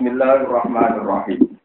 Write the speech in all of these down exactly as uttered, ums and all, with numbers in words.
Bismillahirrahmanirrahim.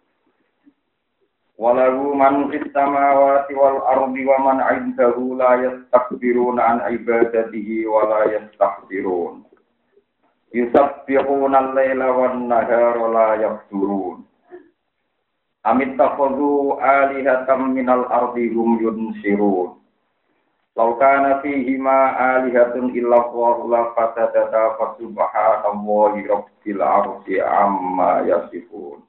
Walau man fis samawati wal ardi wa man 'indahu la yastakbiruna an ibadatihi wa la yastakbirun. Yusabbihuna al-laila wan nahara la yafturun. Amit takhadhu alihatan minal ardi hum yunsirun. Law kana fihima alihatun illa Allahu la fasadata fa subhanallahi rabbil arsyi amma yasifun.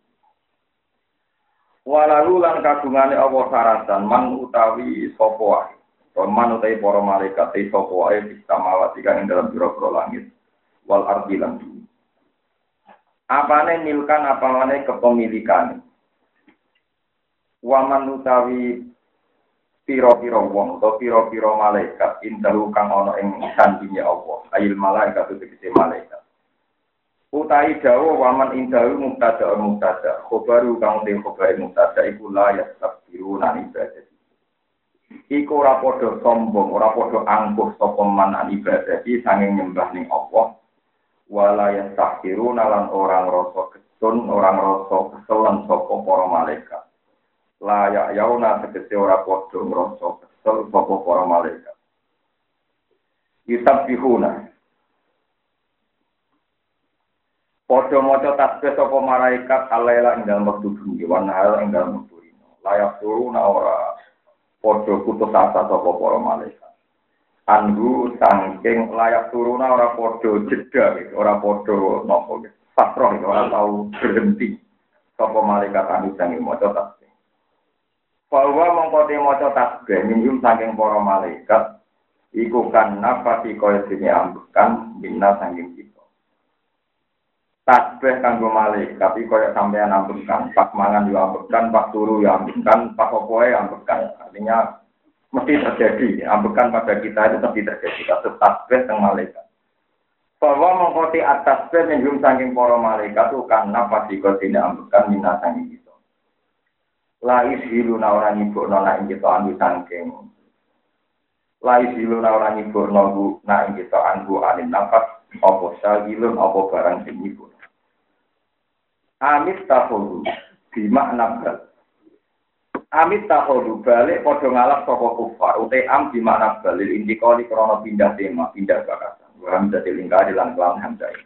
Walau lan kagungane Allah saratan man utawi sapa wae. Man utawi para malaikat sapa wae bismawati kang ing dalam pira-pira langit wal ardi lan bumi. Apane milkan apane kepemilikan. Wa man utawi piro-piro wong atau piro-piro malaikat indahu kang ana ing sandinge Allah ayil malaikat tegese malaikat utai dawa waman indahu mubtada mubtada khobaru kang te khobar mubtada iku la yastabiru nan ibadah iku ora padha sombong ora padha angkuh sapa man an ibadah iki sanging nyembah ning Allah wala yastabiru lan orang rasa ketun orang rasa keselen sapa para malaikat layak yauna tegese ora padha ngrasa kesel sapa para malaikat. Yusabbihuna. Padha maca tasbih sapa malaikat alaila ing dalem wektu bengi wan hal ing dalem wektu rino. Layak turuna ora padha putus asa sapa para malaikat. Anhu saking layak turuna ora padha jeda ora padha napa pasrah ora tau berhenti sapa malaikat anu sange maca tasbih. Bahwa mengkoti moco tasbih minjum saking para malaikat iku kan nafasi kaya dene ambekan minna saking kita. Tasbih kanggo malaikat iki kaya sampeyan ambekan, pas mangan yo ambekan, pas turu yo ambekan, pas opoe ambekan. Artinya mesti terjadi, ambekan pada kita itu mesti terjadi kasus tasbih teng malaikat. Bahwa mengkoti atas tasbih minjum saking para malaikat iku kan nafasi kaya dene ambekan minna saking kita. Lais hilu na orang ibu nona ing kita anu sangking. Lais hilu na orang ibu nogu na ing kita anu anin nafas. Opo sagilun opo barang sing ibu. Amit tahodu bima nabal. Amit tahodu balik podo ngalap soko kufar. Utai am bima nabal. Indikoli krono pindah tema pindah bakasan. Orang jadi lingkari lan kelam hamzah.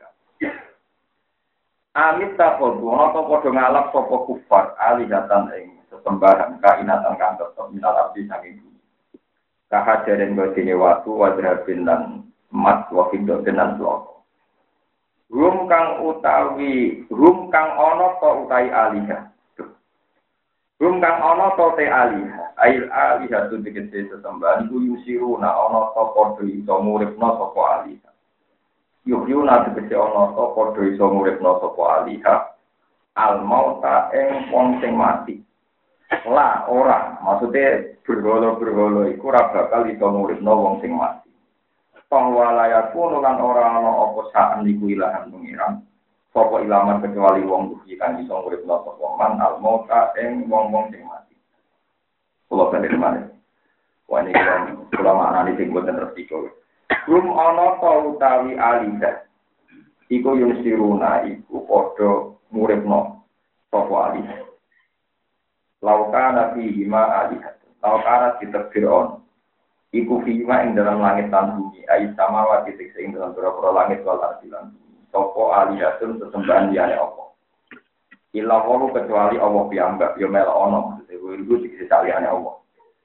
Amit tahodu ono podo ngalap soko kufar alihatan ing sembahan kainatan kang tetep minal abdi saking bumi. Kahajaren godine watu wadrabin lan emas wa fiddatin lan loko. Rum kang utawi rum kang ana ta utawi alihah. Rum kang ana ta te alihah. Ail alihah tu tegese sesembahan iku yusiruna ana ta padha iso muripna sapa alihah. Yuhyuna tegese ana ta padha iso muripna sapa alihah. Al mauta ing wong sing mati. Lah ora, maksudnya bergolo-bergolo iku ora bakal iso nguripno wong sing mati. Tong walayaku lan ora ana apa sak niku ilahan pengiran. Sapa ilaman kecuali wong duhi kang iso nguripno sapa man al mauta ing wong-wong sing mati. Kula kene maneh. Wani kan kula maknani sing boten resiko. Rum ana ta utawi alida. Iku yung siruna iku padha nguripno sapa alida. Laukana fi hima alihat. Laukana ditakdiron. Iku fi hima ing dalam langit dan bumi. Ais samawati tiksa ing dalam pura-pura langit wal ardi lan bumi. Sopo alihatun sesembahan liyane Allah. Illa wahu kecuali Allah piyambak. Yo mel ono. Maksudnya itu tiksa liyane Allah.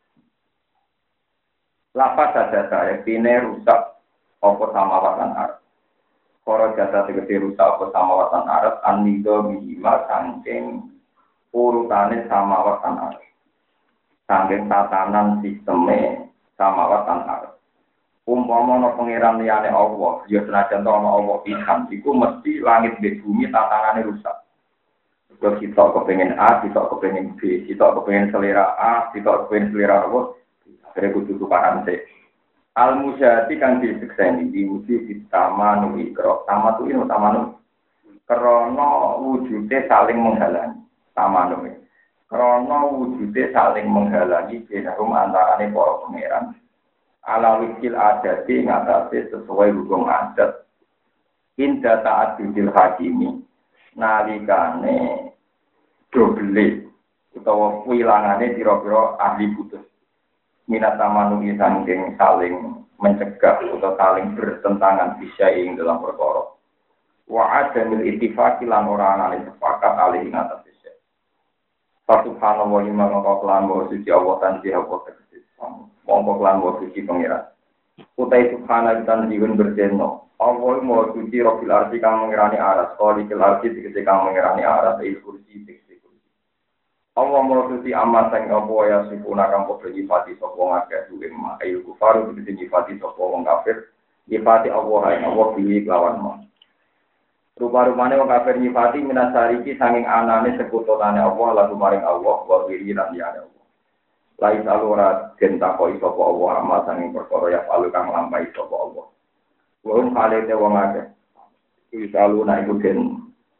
Lapas saja saya. Pine rusak. Opo samawatan arab. Koro jasa tiksa rusak. Opo samawatan arab. Anido bihima sangking urutane samawatan arep. Saking tatanan sisteme samawatan arep. Umpama ana pangeran liyane Allah, ya senajan ana Allah pisan, iku mesti langit dan bumi tatanane rusak. Kalau kita kepengin A, kita kepengin B, kita kepengin selera A, kita kepengin selera apa, akhirnya kudu tukaran sih. Al-musyati kang disekseni diuji ditamanu ikro. Tamatu ini tamanu. Karena wujudnya saling menghalangi. Tamanu ini. Karena wujudnya saling menghalangi benahum antarane para pangeran. Ala wikil adati ngatasi sesuai hukum adat. Indah ta'at bidil hakimi. nalikane dobele utawa wilangane pira-pira ahli putus minat tamanungi saking saling mencegah atau saling bertentangan bisa ing dalam perkara wa adamil ittifaqi lan ora ana sepakat alih ing atas bisa subhanallah wa mangko kelan wa suci Allah tanji apa tegese mongko kelan wa suci pangeran utai subhana dan diun berjeno Allah mau suci robil arti kang mengerani aras kali kel arti tegese kang mengerani aras il kursi tegese kursi Allah mau suci amat sang apa ya sipuna kang padha nyifati sapa ngakeh duwe mak ayu kufaru tegese nyifati sapa wong kafir nyifati Allah ae Allah pilih lawan mau rupa-rupane wong kafir nyifati minasariki sanging anane sekutone Allah lalu maring Allah wa wiri lan liyane Allah lain alura den takoi sapa Allah amal sanging perkara ya palu kang lampahi sapa Allah wong kalete wong akeh iki saluna iku den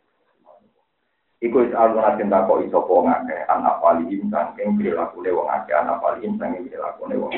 iku saluna den takoi sapa wong akeh ana paling sanging prilakune wong akeh ana paling sanging prilakune wong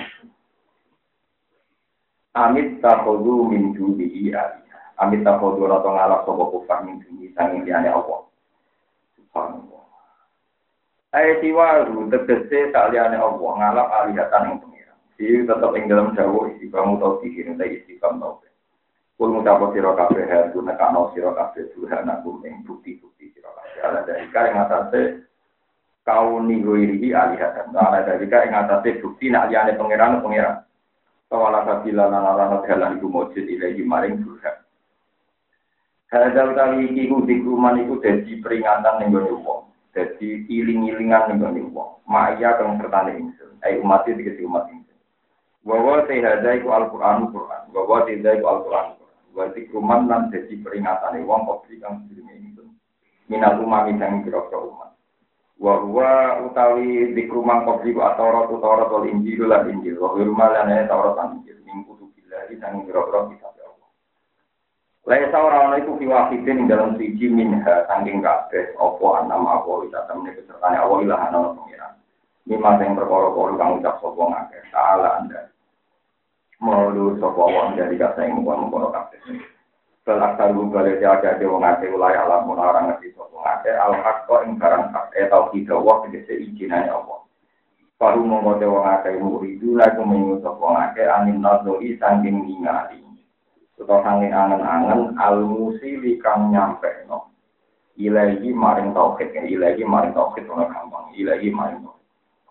amit takhudu min dubi ali amit takhudu ora tong ngalap sapa kufar min dubi sanging liyane Allah subhanallah ayat waru tegese saliyane Allah ngalap alihatan ing pengira iki tetep ing dalam dawuh iki kamu tau pikirin ta istiqam tau kul mutapa sira kabeh haru nekano sira kabeh Tuhan aku ing bukti-bukti sira kabeh ala dari kare ngatasé kauni goiri alihatan ala dari kare ngatasé bukti nak liyane pengiran pengiran kawala kabila lan ala dalan iku mujud ilahi maring Tuhan hadal kali iki ku dikruman iku dadi peringatan ning wong dadi iling-ilingan ning wong maya kang sertane ingsun ai umat iki dikete umat ingsun wa te hadai ku Al-Qur'an Qur'an wa te hadai ku Al-Qur'an wa dikruman lan dadi peringatane wong kok kang sedurunge ingsun minal umat sing kira-kira umat wa huwa utawi dikruman kok iku Taurat Taurat wal Injil lan Injil wa rumalane Taurat lan Injil ning kutubillah sing kira-kira kitab Laisa ora iku fiwahidin ing dalam siji minha saking kabeh apa anam apa wisata meneh kesertane Allah ilah ana pengiran. Lima sing perkara-perkara kang ucap sapa ngakeh salah anda. Maulu sapa wong dari kata ing wong-wong kabeh. Selakar gugale jaga de wong akeh ulai alam ora ngerti sapa ngakeh al-haqqa ing barang hak eta kita wa tegese ijinane Allah. Paru monggo de wong akeh muridu la kumenyu sapa ngakeh anin nazoi saking ningali. Utawa sanging angen-angen al-musili kang nyampe no ilahi maring tauhid ilahi maring tauhid ora gampang ilahi maring tauhid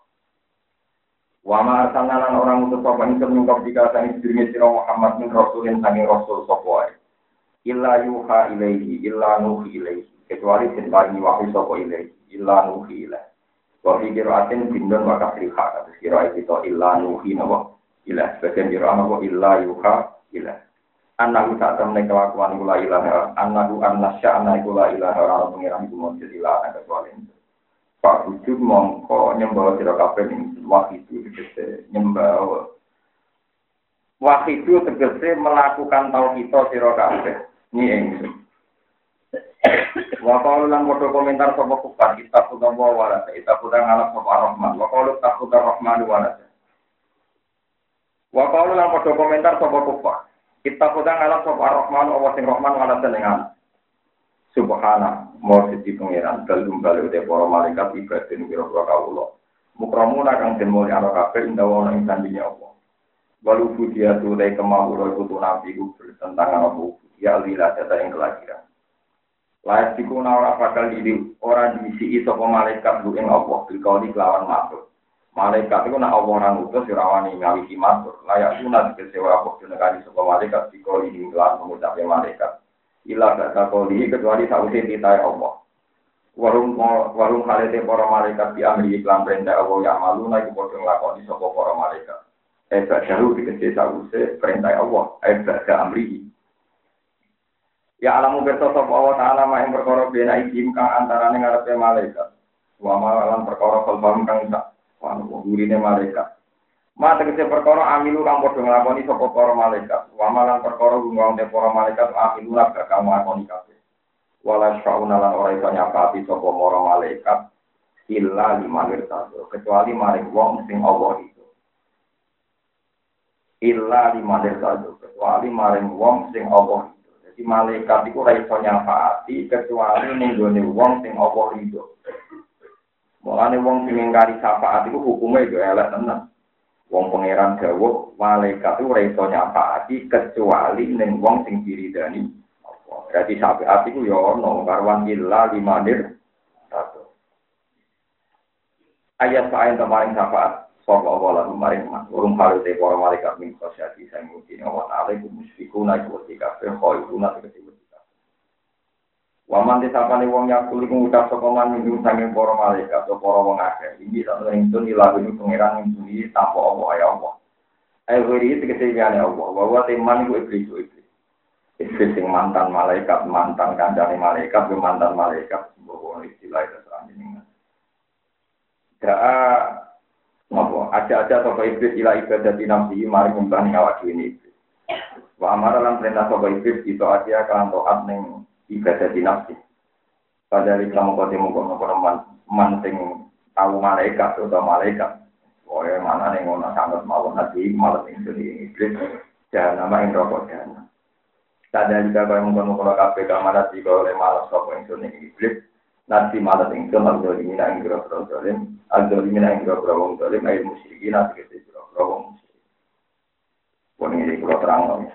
wa ma arsalnalan orang utus apa ing nyungkap jika sang sedherenge sira Muhammad min rasulin sanging rasul sapa wae illa yuha ilaihi illa nuhi ilaihi kecuali den paringi wahyu sapa ilaihi illa nuhi ilaihi wa fi qira'atin bindun wa kasriha kados kira itu illa nuhi nawa ila sebagian kira nawa illa yuha ila Anahu tak temne kelakuan iku la ilaha anahu annasya anahu la ilaha ora pengiran iku mung jadi la ana kecuali Pak wujud mongko nyembah sira kabeh ing wahid itu tegese nyembah wahid itu tegese melakukan tauhid sira kabeh ni ing wa qalu lan foto komentar sapa kufar kita kudu wala kita kudu ngalap sapa rahman wa qalu taqudur rahman wala wa qalu lan foto komentar sapa kufar kita kodang alam sop ar-Rahman Allah sing Rahman wala senengan. Subhana mau siji pangeran dalem bali ute para malaikat ibadin kira-kira kawula. Mukramuna kang den mulya ana kabeh indawa ana ing sandinya Allah. Walu fudia turai kemawura iku nabi ku bertentangan apa ya lila data ing kelahiran. Layak dikuna ora bakal diri ora diisi sapa malaikat lu ing Allah bilkali kelawan makhluk. Malaikat itu nak Allah orang utus sirawani ngawisi matur. Layak sunat kesewa waktu negari sebuah malaikat dikoli hinggalan pengucapnya malaikat. Ilah gak koli kecuali sausi titai Allah. Warung warung halete para malaikat diambil iklan perintah Allah yang malu naik bodoh ngelakoni sebuah para malaikat. Eba jauh dikasih sausi perintah Allah. Eba gak amrihi. Ya alamu bersosok Allah Ta'ala main perkara bina ikim kang antarane ngarepe malaikat. Wa malan perkara kalbam kang isak. Wanu gurine malaikat. Mate kese perkara amilu kang padha nglakoni sapa para malaikat. Wa malan perkara gungong te para malaikat amilu lan gak kang nglakoni kabeh. Wala syauna lan ora iso nyapati sapa para malaikat illa limanir satu kecuali maring wong sing Allah itu. Illa limanir satu kecuali maring wong sing Allah itu. Jadi malaikat iku ora iso nyafaati kecuali ning gone wong sing apa rido. Mulane wong sing ngingkari syafaat iku hukume yo elek tenan. Wong pangeran dawuh malaikat iku ora iso nyafaati kecuali ning wong sing diridani. Berarti syafaat iku yo ono karwan illa limanir satu. Ayat paling kemarin syafaat sapa Allah kemarin mas urung hal te para malaikat min khosyati sing mungkin wa ta'ala iku musyrikuna iku ketika khairuna ketika Waman disapane wong yakul iku ngucap sapa man minggu saking para malaikat atau para wong akeh. Iki sak ingsun ilahune pangeran ngene tanpa apa ya Allah. Ayo wiri tegese jane Allah. Bahwa teman iku iblis iblis. Iblis sing mantan malaikat, mantan kancane malaikat, mantan malaikat bahwa istilah itu terang. Daa ngopo aja-aja sapa iblis ila ibadah dinamsi mari nyembah ning awak dhewe iblis. Wa amara lan perintah sapa iblis itu aja kan taat ning ibadah dinasti. Pada di kamu kau temu kau nopo man sing tahu malaikat atau malaikat. Oh ya mana nih ngono sangat mau nanti malam ini jadi iblis dan nama yang rokok dan. Pada jika kau yang kau kau kafe kamar nanti kau oleh malam kau yang jadi iblis nanti malam ini kau malam ini nang kira kira dolim, aldo ini nang kira kira wong dolim, air musyrikin nanti kira kira wong musyrik. Pun ini kau terang loh.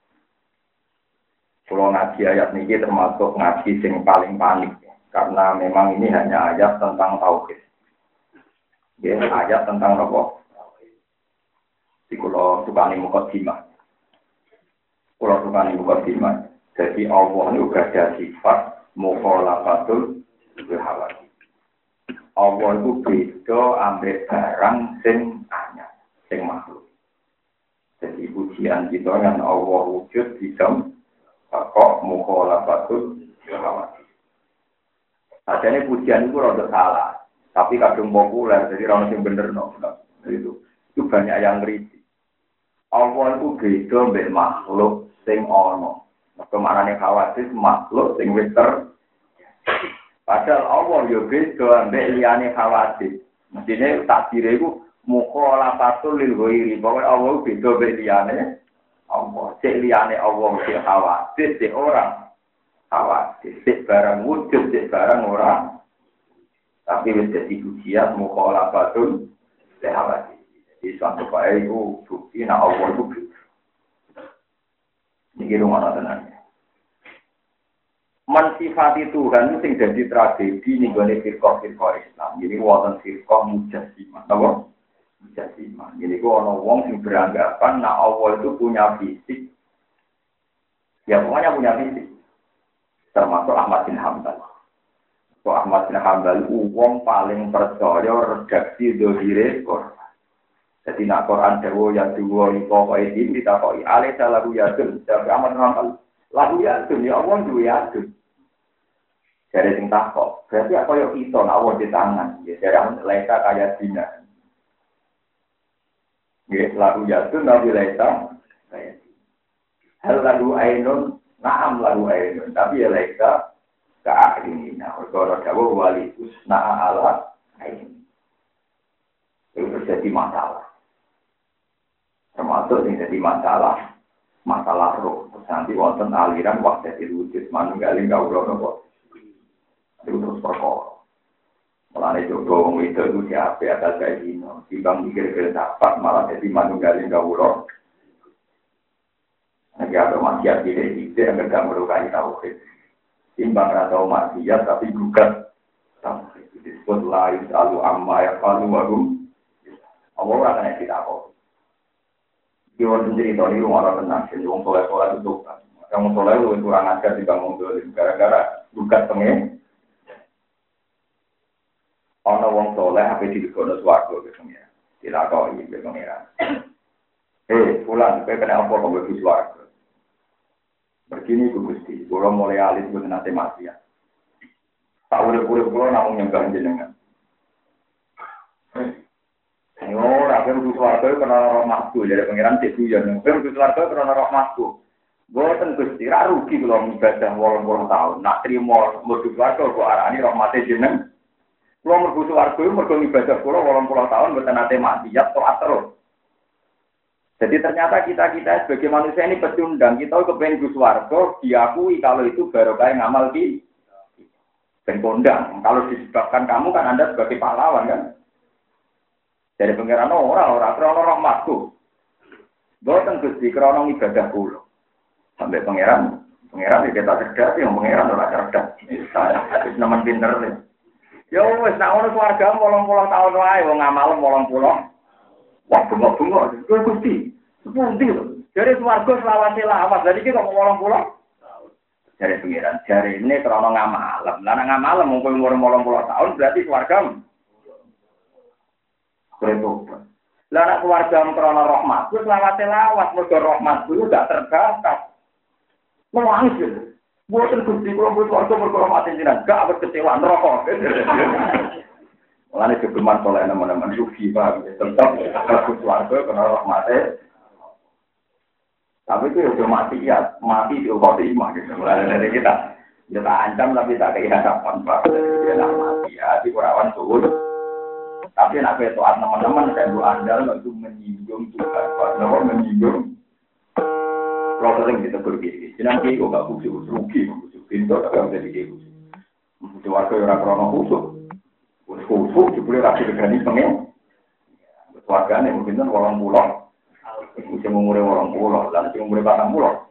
Kalau ngaji ayat ini termasuk ngaji sing paling panik ya. Karena memang ini hanya ayat tentang tauhid. Ya, ayat tentang apa? Di kalau tukani mukadimah. Kalau tukani mukadimah. Jadi Allah ini juga ada sifat mukhalafatul bilhawati. Allah itu beda ambek barang sing anyar, sing makhluk. Jadi pujian kita yang Allah wujud di dalam kok mukhalafatul bilhawati. Sajane pujian itu rada salah, tapi kadung populer, jadi orang sing bener no. Itu itu banyak yang kritik. Allah itu beda mbek makhluk sing ana. Kemanane khawatir makhluk sing wis ter. Padahal Allah yo beda mbek liyane khawatir. Mestine takdire iku mukhalafatul lil ghairi. Pokoke Allah beda mbek liyane Allah. Cek liyane Allah sing khawatir, cek orang khawatir, cek barang wujud, cek barang orang. Tapi wis dadi pujian mukhalafatul khawatir. Jadi suatu kaya itu bukti nak Allah itu bukti. Ini rumah tenangnya. Mensifati Tuhan itu yang jadi tragedi nih gue firqah-firqah Islam. Jadi wonten firqah mujassimah, apa? Mujassimah. Jadi gue ono wong yang beranggapan nak Allah itu punya fisik. Ya pokoknya punya fisik. Termasuk Ahmad bin Hanbal. So Ahmad bin Hanbal wong paling percaya redaksi dohire Quran. Jadi nak Quran dewa yang dua iko kau ini ditakoi alih salah lagu yadun. Jadi amat nonton lagu yadun ya Allah dua yadun. Jadi sing takok. Berarti apa yang kita nak Allah di tangan. Ya jadi amat leka kayak dina. Ya lagu yadun nabi leka kayak. Hal lagu ainun naam lagu ainun. Tapi ya leka keakhirnya. Kalau dewa wali usna ala ainun. Itu jadi masalah. Termasuk yang jadi masalah, masalah roh. Nanti wonten aliran waktu jadi wujud manunggaling kawula napa. Itu terus perkara. Mulane jodoh wong itu itu siapa atas kayak gini. Timbang mikir-mikir dapat malah jadi manunggaling kawula. Lagi ada maksiat tidak tidak agar melukai tauhid. Timbang atau maksiat tapi gugat tauhid. Disebut lain selalu amma ya qalu wa hum. Allah ora kena ditakok. Iki wonten cerita niku ora tenang, sing wong soleh-soleh itu kan. Wong soleh luwih kurang ajar dibanding wong gara-gara bukan pengen. Ana wong soleh ape digono swarga biasanya. Dilakoki iki pengira. Eh, pulang kowe kena apa kok mlebu swarga. Begini ku Gusti, kula mulai alit mboten nate mati ya. Tak urip-urip kula namung nyembah jenengan. Yo, rakyat butuh warga karena rahmatku, jadi pengiran cek tujuan. Rakyat butuh warga karena rahmatku. Boten Gusti, ra rugi kalau ibadah wolong wolong tahun. Nak terima butuh warga, kok arani rahmate jeneng. Kalau butuh warga, mergo ibadah kula wolong wolong tahun, boten nate maksiat toat terus. Jadi ternyata kita-kita sebagai manusia ini pecundang. Kita kepengen Gus Wargo diakui kalau itu barokah ngamal di ben kondang. Kalau disebabkan kamu kan Anda sebagai pahlawan kan. Dari pengiran orang-orang krono rahmatku. Boten Gusti krono ibadah kula. Sampai pangeran, pangeran kita cerdas yang pangeran ora cerdas. Saya wis nemen pinter. Ya wis nek ono swarga wolong puluh tahun wae wong ngamal wolong puluh. Wah, bengok-bengok. Kuwi Gusti. Sepundi lho. Jare swarga selawase lawas. Jadi iki kok wolong puluh. Jare pangeran, jare ini krono ngamal. Lah nek ngamal mung umur wolong puluh tahun berarti swarga. Bertobat. Lah nek swarga krono rahmat, wis lawase lawas mergo rahmat kuwi gak terbatas. Menangis gitu. Buatan Gusti kalau buat warga berkormati jiran, gak berkecewaan rokok. Mulanya kegeman soleh nama-nama sufi pak, tetap bagus warga kena rahmatnya. Tapi itu udah mati ya, mati di ukot imah gitu. Mulanya dari kita, kita ancam tapi tak kayak hadapan pak. Dia nak mati ya, di kurawan suhud. Tapi nak betuan teman-teman saya bu andal itu menyinggung Tuhan, pak. Nama menyinggung. Kalau sering kita pergi, nanti kok nggak khusus rugi, khusus pintu tapi nggak jadi khusus. Khusus warga orang krono khusus, khusus khusus juga rapi berani pengen. Warga nih mungkin kan orang pulau, khusus umurnya orang pulau, dan khusus umurnya batang pulau.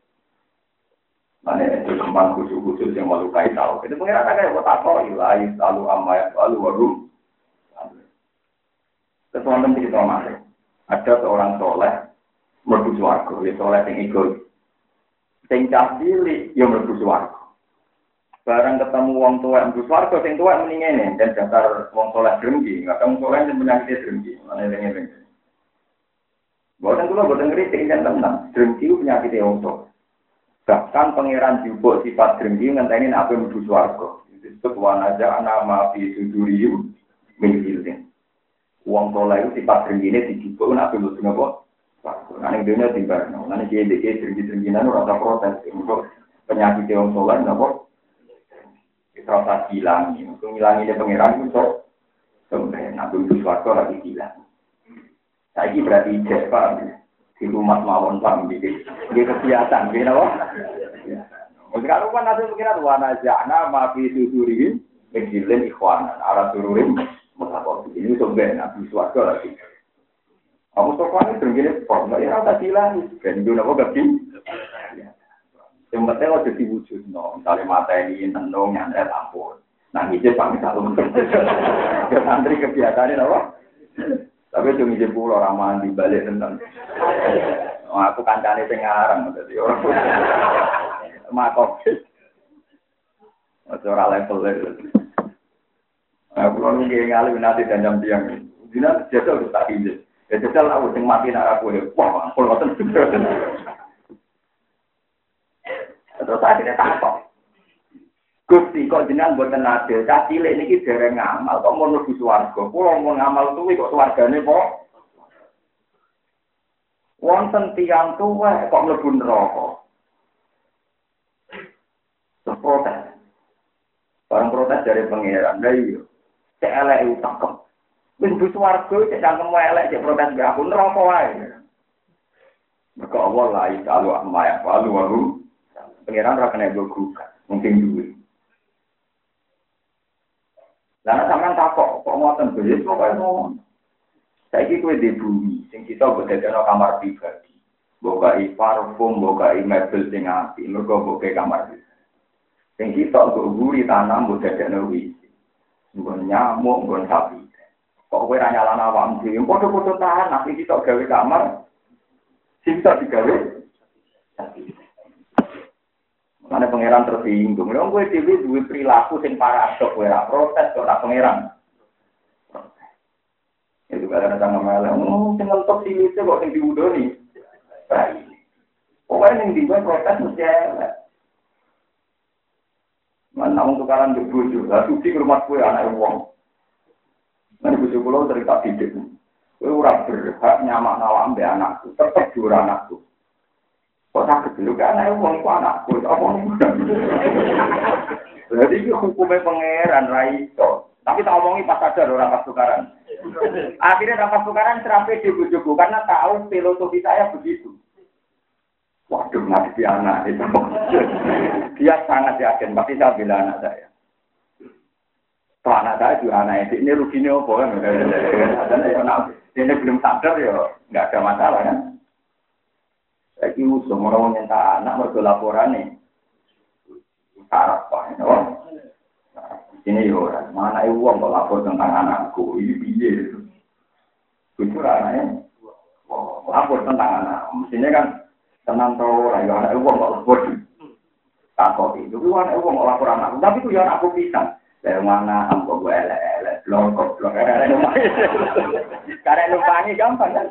Mana itu kembang khusus khusus yang malu kait tahu. Itu pengen ada kayak buat apa? Ilai selalu amai selalu warum. Ketuan teman kita masih ada seorang soleh. Merdu swarga, ya soleh sing egois. Sing cah cilik ya merdu swarga. Barang ketemu wong tuwek merdu swarga, sing tuwek muni ngene, dan dasar wong soleh drengki, kadang soleh sing penyakit drengki, ana eling-eling. Boten kula boten ngritik yen tenan, drengki ku penyakit wong tuwa. Bahkan pangeran jupuk sifat drengki ngenteni nek ape merdu swarga. Disebut wanaja nama fi suduriyu min ilmin. Wong soleh itu sifat drengkine dijupuk nek ape merdu napa? Nanti dunia tiba, nanti dia dia tinggi-tinggian rasa protes untuk penyakit yang solar, nabo rasa hilang, untuk hilang ini pengiran itu sebenarnya nabi suatu lagi hilang. Saya ini berarti cepat di rumah mawon pak, jadi dia kebiasaan, dia nabo. Sekarang kan nanti pengiran warna jana, maafi susuri, menjilin ikhwanan, arah sururin, mengapa ini sebenarnya nabi suatu lagi. Kamu sopan itu gini, kok nggak ya rasa hilang, kan itu nabo gak sih? Yang penting lo jadi wujud, no, misalnya mata ini tenung, nyantai ampun, nah hijau pamit satu, ke santri kebiasaannya nabo, tapi itu hijau pulau ramahan di balik tentang, oh, aku kancane pengarang, jadi orang, makok, orang level itu, aku lalu ngalih nanti dan jam siang, jinak jatuh udah tak hijau. Ya jajal aku sing mati nak aku ya. Wah, aku ngoten. Terus akhirnya takok. Gusti kok jenengan mboten adil, cah cilik niki dereng ngamal kok mau mlebu swarga. Kula mau ngamal tuwi kok swargane kok. Wonten tiyang tuwa kok mlebu neraka. Protes. Barang protes dari pangeran, lha iya. Cek elek utak. Wis butuh warga cek cangkem elek cek protes be aku neraka wae. Mergo Allah la ilaha amma ya walu walu. Pengiran ora kena gogu. Mungkin duwe. Lah sampean takok kok ngoten beres kok kaya ngono. Saiki kowe di bumi sing kita bodhekno kamar pribadi. Bokai parfum, bokai mebel sing apik, mergo bokai kamar pribadi. Sing kita nggo guri tanam bodhekno wisi. Nggon nyamuk, nggon sapi. Kok kowe ra nyalana awakmu dhewe, padha-padha tahan, nek kita gawe kamar, sing tak digawe. Mana pangeran tersinggung, lha kowe dhewe duwe perilaku sing paradok, kowe ra protes kok ora pangeran. Itu kadang sama malah, oh, sing ngetok sini kok sing diudoni. Baik. Pokoknya yang dibuat protes mesti elek. Mana untuk kalian berbujuk, lah suci ke rumah kue anak uang. Nanti bujuk pulau cerita didik. Kue ora berhak nyamak nawam be anakku, tetap jura anakku. Kok sakit dulu ke anak uang itu anakku, apa nih? Jadi itu hukumnya pangeran Raito. Tapi tak omongi pas sadar orang pas tukaran. Akhirnya dapat tukaran serapi di bujuku karena tahu filosofi saya begitu. Waduh, ngadepi anak itu. Dia sangat yakin, pasti saya bilang anak saya. Kalau anak saya juga anak ini ruginya apa kan? Ini belum sadar ya, nggak ada masalah kan? Saya kira semua orang nyentak anak mergo laporan nih. Sarap pak, ini yo, mana uang kok lapor tentang anakku, ini piye? Jujur anaknya, lapor tentang anak, mestinya kan tenang tau, ayo anak uang kok lapor, takut itu, tapi anak uang kok lapor anakku, tapi itu ya aku pisang, dari mana ambo gue elek elek, blokok blok, karena numpangi gampang kan?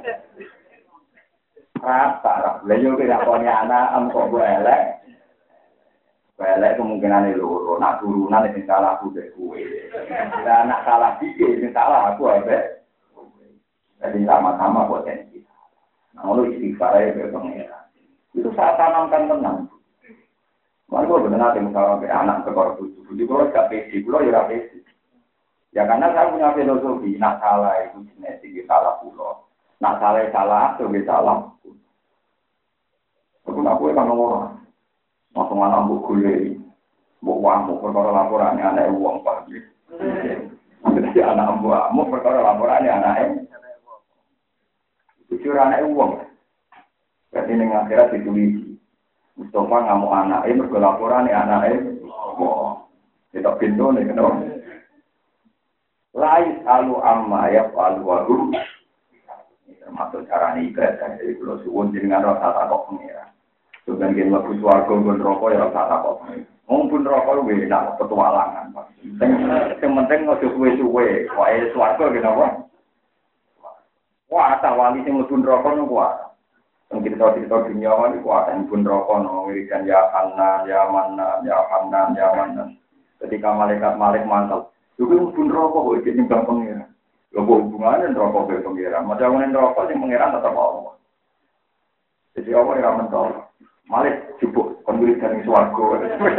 Rata, beliau tidak punya anak, ambo gue elek. Belek kemungkinan itu loro, nak turunan itu salah aku deh kue. Dan nak salah dikit itu salah aku aja. Jadi sama-sama potensi. Nah, lu istighfar aja ke pengira. Itu saya tanamkan tenang. Mari gue benar nanti misalnya ke anak ke korban tujuh, jadi kalau gak pesi, kalau ya gak pesi. Ya karena saya punya filosofi, nak salah itu genetik salah pulau, nak salah salah itu salah. Aku nak kue kan orang. Langsung anak buk gule, buk wamu, perkara laporannya anak uang pagi. Jadi anak wamu, perkara laporannya anak jujur anak uang. Jadi ini akhirat ditulis. Mustafa ngamu anak ini, perkara laporannya anak uang. Kita pintu nih, kenapa? Lais alu amma ya alu waru. Ini termasuk cara ibadah. Jadi kalau suwun dengan rasa takut mengira. Sebenarnya kalau bus warga pun rokok ya rasa apa? Mumpun rokok lebih enak petualangan. Yang penting nggak suwe-suwe. Wah, warga kenapa? Wah, tak wali yang mumpun rokok nih kuat. Yang kita tahu kita dunia ini kuat. Yang mumpun rokok memberikan ya Hanan, ya Manan, ya Hanan, ya Manan. Ketika malaikat malik mantel, juga mumpun rokok kok jadi bang pengiran. Gak hubungannya rokok ke pengiran. Macam mana rokok yang pengiran tetap Allah. Jadi Allah yang mentol. Malik jupuk kondulit dari swargo.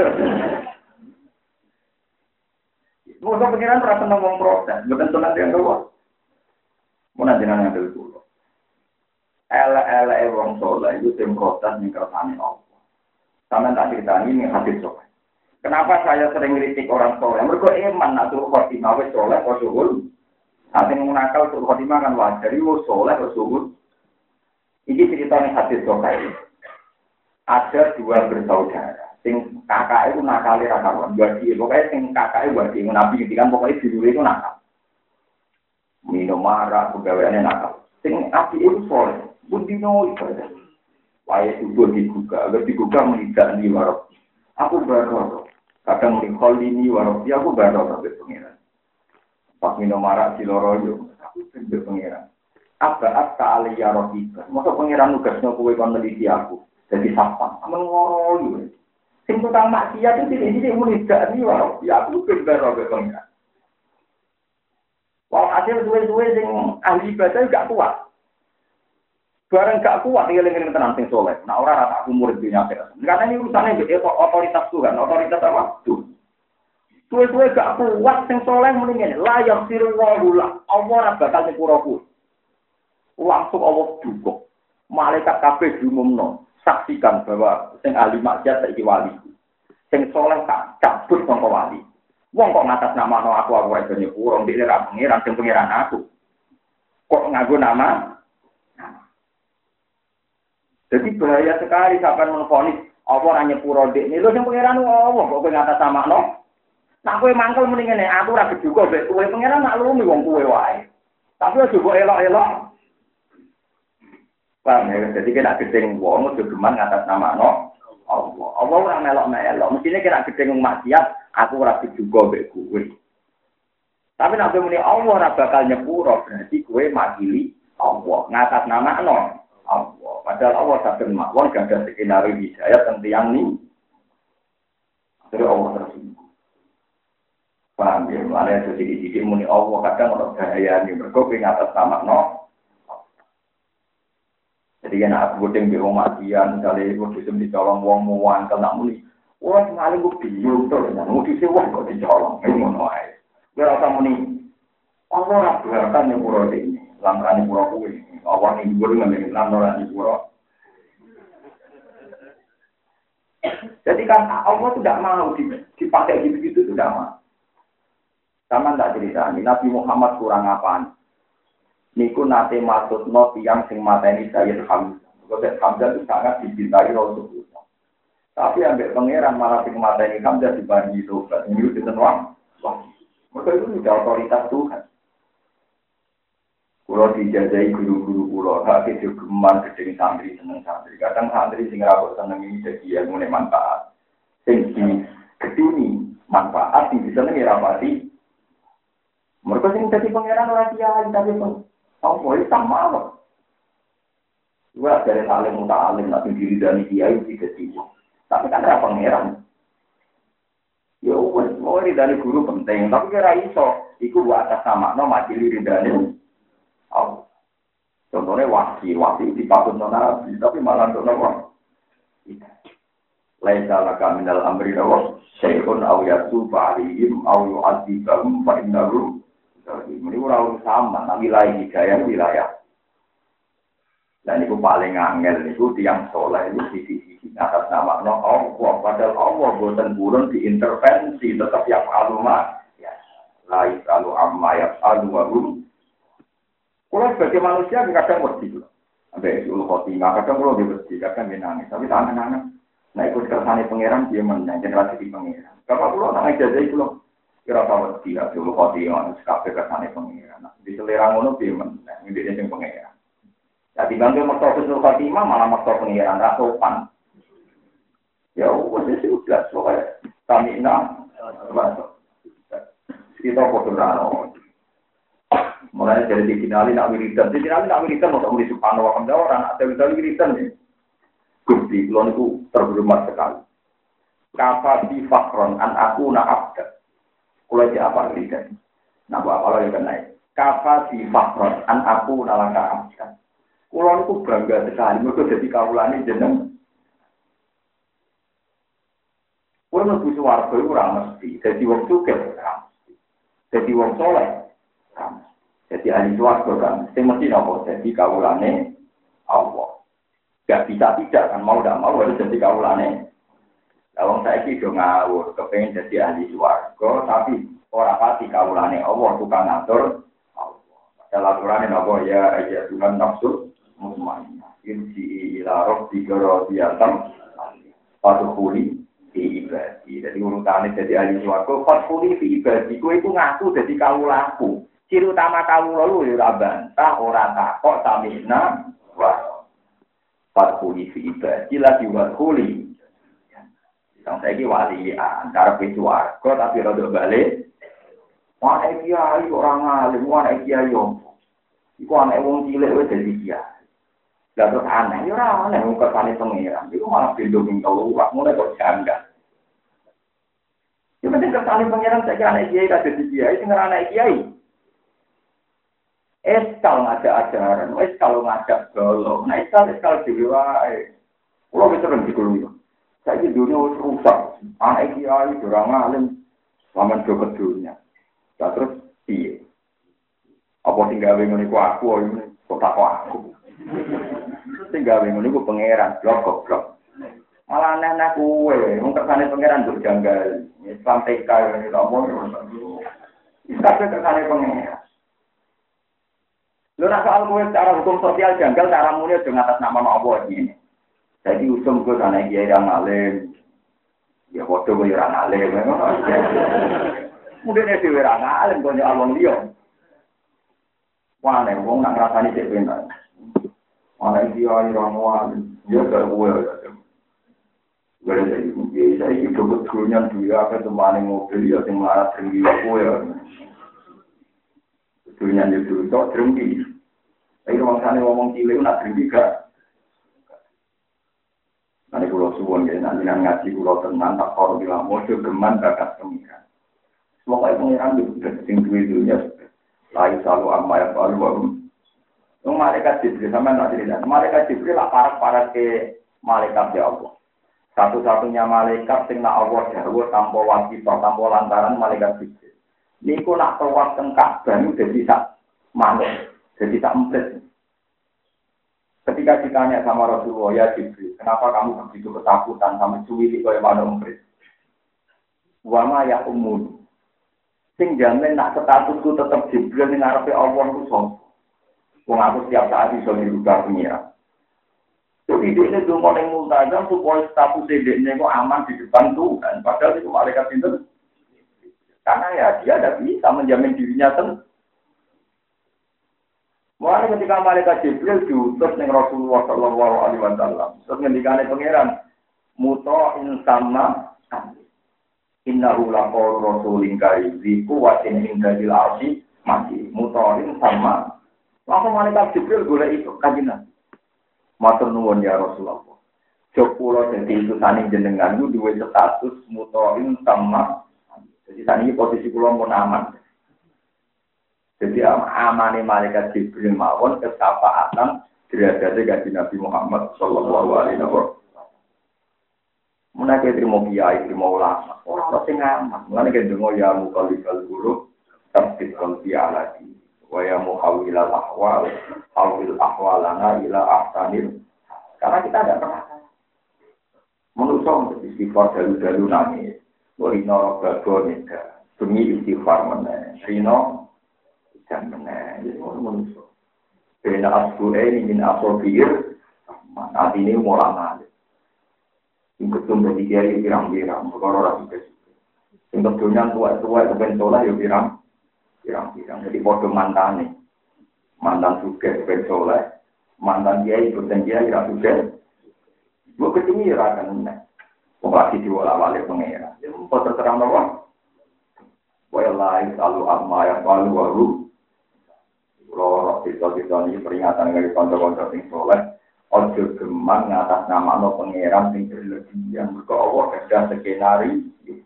Mungkin pengiran rasa ngomong protes, bukan tenang dia doang. Mau nanti nanya dulu. Ela ela wong soleh itu tim protes nih kersane Allah. Sama tak cerita ini hadis soleh. Kenapa saya sering kritik orang soleh? Mereka iman nak suruh khotimah wes soleh kosuhul. Nanti menakal suruh khotimah kan wajar. Itu soleh kosuhul. Ini ceritanya hadis soleh. Ada dua bersaudara, sing kakak itu nakal ya kawan, wadi, pokoknya sing kakak itu wadi, nabi kan pokoknya dulu itu nakal, minum marah, pegawaiannya nakal, sing api itu soleh, pun dino ibadah, wajah subuh dibuka, agar dibuka melihat di warok, aku baru, kadang melihat ini warok, ya aku baru sampai pengiran, pas minum marah si loroyo, aku sampai pengiran, apa apa aliyah rohika, masa pengiran nugasnya kue kon meneliti aku. Jadi sapang, aman ngoroyu. Sing tukang maksiat itu tidak jadi mulidak ni walau ya aku benar benar pengiran. Walau hasil suwe-suwe sing ahli ibadah gak kuat. Barang gak kuat dia lengan tenang sing soleh. Nah orang rata umur dunia akhirat. Karena ini urusannya itu otoritas Tuhan, otoritas apa? Tuhan. Suwe-suwe gak kuat sing soleh mendingan layak sirwahu lah. Allah bakal nyepuraku. Langsung Allah dukung. Malaikat kabeh diumumno. Saksikan bahwa sing ahli maksiat saiki wali. Sing soleh tak cabut sangka wali. Wong kok ngatas nama no aku aku aja nyepuro ndek ora pengiran sing pengiran aku. Kok nganggo nama? Jadi bahaya sekali sampean menfonis apa ora nyepuro ndek niku sing pengiran Allah kok kowe ngatas nama no. Nak kowe mangkel mendingane aku ora kejuga mbek kowe pengiran nak lumi wong kowe wae. Tapi aja kok elok-elok. Paham ya? Jadi kena gedeng wong udah geman ngatas nama no Allah. Allah ora melok-melok. Mestine kena gedeng maksiat, aku ora juga mbek kowe. Tapi nek muni Allah ora bakal nyepuro, berarti kowe makili Allah ngatas nama no Allah. Padahal Allah sadar mawon gak ada skenario hidayah tentang yang ini. Jadi Allah tersinggung. Paham ya? Mana sedikit-sedikit muni Allah kadang ora bahaya nih mergo kowe ngatas nama no. Jadi kan aku gedeng di rumah dia, misalnya aku disem dicolong wong muan, kalau nak muni, wah sekali aku bingung tuh, mau disem wong kok dicolong, ini ngono aja. Gue rasa muni, Allah ora beratan nyepuro ini, lantaran nyepuro kuwi. Allah ngibur ngambil lantaran nyepuro. Jadi kan Allah tidak mau dipakai gitu-gitu, tidak mau. Sama tak cerita, Nabi Muhammad kurang apaan? Niku nate maksudno tiyang sing mateni Sayyid Hamzah. Sayyid Hamzah itu sangat dicintai Rasulullah. Tapi ambek pangeran malah sing mateni Hamzah dibanding itu, ini itu tenang. Maka itu sudah otoritas Tuhan. Kulo dijajahi guru-guru kulo, hak kejogeman gedeng santri seneng santri. Kadang santri sing rapor seneng ini jadi ilmu manfaat. Sing di geduni manfaat sing bisa nengi rapati. Mereka sing jadi pangeran ora kiai tapi pun apa itu sama apa? Dua dari alim muta'alim nak diri dari kiai tidak tiba. Tapi kan ora pangeran. Ya wes mau dari guru penting, tapi kira iso iku buat atas sama no majili ridane. Oh. Contohnya wahsi, wahsi dipatut nona tapi malah nona wah. Laisa laka minal amri rawas syai'un aw yasufa alihim aw yu'adzibahum fa innahu ini orang sama, nah wilayah hidayah wilayah. Dan itu paling angel, itu tiang soleh, itu sisi-sisi atas nama no Allah. Padahal Allah buatan burun diintervensi, tetap yang alumah, ya, lain kalau amma yang alumarum. Kalau sebagai manusia, kadang mesti loh. Sampai ulu khotimah, kadang kalau dia mesti, kadang dia nangis. Tapi tak nangis. Nah ikut kersane pangeran, dia menang, generasi di pangeran. Kalau pulau nangis aja itu loh. Kira tahu tidak dulu khotimah sekape kesane pengiran. Di selera ngono piye men, ngene sing pengiran. Jadi bangga maksa dulu khotimah malah maksa pengiran ra sopan. Ya wis sudah soalnya kami nak kita fotografer. Mulai dari dikenali nak wiridan, dikenali nak wiridan mau muli subhanallah wa hamdalah orang ada wiridan nih. Gusti kula niku terhormat sekali. Kafa bi fakron an aku na abda. Kulo aja apa lihat, nah buat apa lagi kena? Kafa si fakron an aku nalangka amkan. Kulo itu bangga sekali, mereka jadi kaulani jeneng. Kulo nunggu suwargo itu orang mesti, jadi wong sugih kan, jadi wong soleh kan, jadi ahli suwargo kan, sing mesti nopo jadi kaulani Allah. Gak bisa tidak kan, mau tidak mau harus jadi kaulani. Wong saiki do ngawur, kepengin dadi ahli swarga, tapi ora pati kawulane Allah tukang ngatur Allah. Padahal aturane napa ya ya Tuhan nafsu mutmainnah. Inji ila rabbika radiyatan fadkhuli fi ibadi. Jadi urutane dadi ahli swarga, fadkhuli fi ibadi. Kowe iku ngaku dadi kawulaku. Ciri utama kawula lu ya ora bantah, ora takok tamina wa fadkhuli fi ibadi la diwadkhuli. Yang saya ini wali antara pejuarga tapi rada balik. Wah kiai orang alim, wah kiai om. Iku anak wong cilik wis dadi kiai. Lah terus aneh, ya ora aneh wong kersane pangeran. Iku malah bendo ning keluar, mulai kok janggal. Ya penting kersane pangeran saiki anak kiai ra dadi kiai, sing ora anak kiai. Eskal ngajak ajaran, eskal ngajak golo, nah eskal eskal dhewe wae. Kulo wis sering dikulo. Saya dunia rusak, anak kiai orang alim, selama dua dunia. Nah, terus iya, apa tinggal bingung aku, ini kok tak aku. Tinggal bingung aku pangeran, blok blok. Malah anak kue, mungkin kesana pangeran berjanggal, Islam T K ini ngomong, tapi kesana pangeran. Lu nak soal kue secara hukum sosial janggal, cara mulia dengan atas nama Allah ini. Jadi usum ke sana kiai yang alim, ya foto gue orang alim, mungkin dia sih orang alim, punya alon dia. Mana wong nak rasani cek benar. Mana dia orang alim, dia tak boleh. Gak ada jadi, saya itu betulnya dia ke tempat mobil dia yang marah tinggi aku ya. Betulnya itu tak tinggi. Tapi orang sana ngomong cilik nak tinggi gak. Nanti pulau suwon ya, nanti ngaji pulau tenang, tak korup bilang, mojo geman bakat pengiran. Semoga pengiran itu sudah tinggi dunia, lain selalu amma yang baru baru. Malaikat Jibril sama nak cerita, malaikat Jibril lah parat-parat ke malaikat ya Allah. Satu-satunya malaikat sing nak Allah jauh tanpa wajib, tanpa lantaran malaikat Jibril. Niku nak tawaf teng Ka'bah niku dadi sak manuk, dadi sak emprit. Ketika ditanya sama Rasulullah, ya Jibril, kenapa kamu begitu ketakutan sama cuwili kaya manuk emprit? Wa ma ya ummun. Sing jamin nak statusku tetep Jibril ning ngarepe Allah ku sapa? Wong aku setiap saat iso dirubah pengira. Jadi dia ini dulu yang multazam supaya status dia ini kok aman di depan Tuhan. Padahal itu malaikat itu. Karena ya dia tidak bisa menjamin dirinya sendiri. Mulai ketika malaikat Jibril diutus dengan Rasulullah Shallallahu Alaihi Wasallam, terus ngendikane pangeran, muto'in sama innahu laqaulu rasulin karim ziku watin indadil arsi masih muto'in sama. Langsung malaikat Jibril golek itu kajian. Matur nuwun ya Rasulullah. Jopula dadi utusane jenengan ku duwe status muto'in sama. Jadi saat ini posisi kula pun aman. Jadi amane malaikat Jibril mawon kesapaatan derajate kanjeng Nabi Muhammad sallallahu alaihi wasallam. Menawa trimo kiai trimo ulama, ora sing aman. Mulane kendonga ya muqallibal qulub, tabit qalbi alati. Wa ya muhawwilal ahwal, hawil ahwalana ila ahsanil. Karena kita tidak pernah menusuk untuk istighfar dalu-dalu nangis. Rino bago nida, demi istighfar meneh. Rino dan meneh, jadi menusuk. Bena asbure ini min asobir, saat ini mulai ngalih. Yang ketumbuh di kiri pirang-pirang, perkara rapi kesukaan. Yang keduanya tua-tua itu bentolah ya pirang, pirang-pirang. Jadi bodoh mantan nih, mantan suka bentolah, mantan dia ikut dan dia tidak suka. Gue ketemu ya akan meneh. Pembahasan diwala-wali pengira. Ya, mau terserang apa? Walai selalu amma yang paling baru. Lorok sisa-sisa ini peringatan dari konco-konco sing soleh. Ojo gemang ngatas nama no pengiran sing berlebihan. Mereka Allah kerja skenario.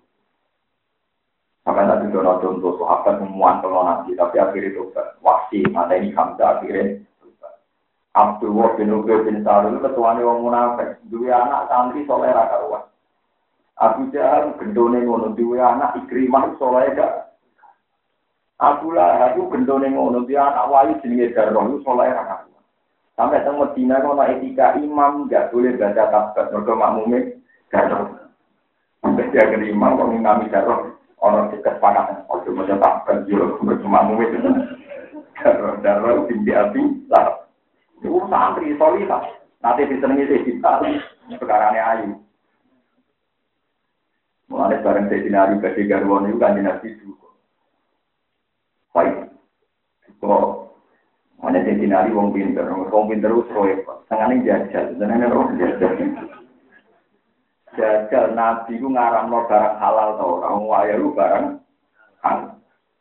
Sampai tadi dono contoh sahabat semuaan kalau nanti. Tapi akhirnya itu wasi. Mata ini Hamzah akhirnya. Abdullah bin Ubay bin Salul ketuanya orang munafik. Dua anak santri soleh rakaruan. Abu Jahal gendone ngono duwe anak Ikrimah saleh gak. Abu Lahab itu gendone ngono duwe anak wali jenenge Darroh saleh ra. Sampai teng Madinah ono etika imam gak boleh baca tasbih mergo makmume Darroh. Sampai dia ke imam kok ngimami Darroh ono kesepakatan ojo maca tasbih yo mergo makmume Darroh Darroh binti Abi lah. Itu santri solihah. Nanti disenengi kita sekarane ayu. Mulai bareng saya dinari bagi garwan itu kan dinasti juga. Baik. Kok mana saya dinari wong pinter, wong pinter itu proyek. Tangannya jajal, tangannya orang jajal. Jajal nabi itu ngaram no barang halal tau orang waya itu barang halal.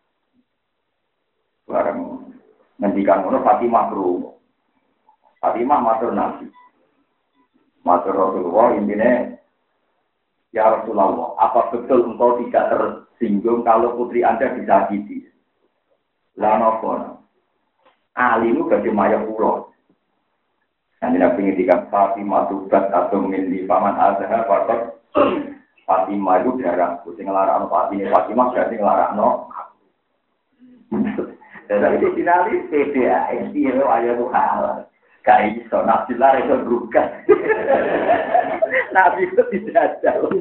Barang ngendikan ngono Fatimah bro. Fatimah matur nabi. Matur Rasulullah intinya. Ya Rasulullah, apa betul engkau tidak tersinggung kalau putri Anda disakiti? Lama pun, alimu bagi maya pulau. Nanti nabi ngintikan Fatimah tubat atau milih paman azhar faktor Fatimah itu darah. Kucing ngelarang Fatimah, Fatimah berarti ngelarang no. Dan itu finali P D A, ini ayat Tuhan. Kayak iso nabi lah itu berubah. Nabi itu tidak jauh.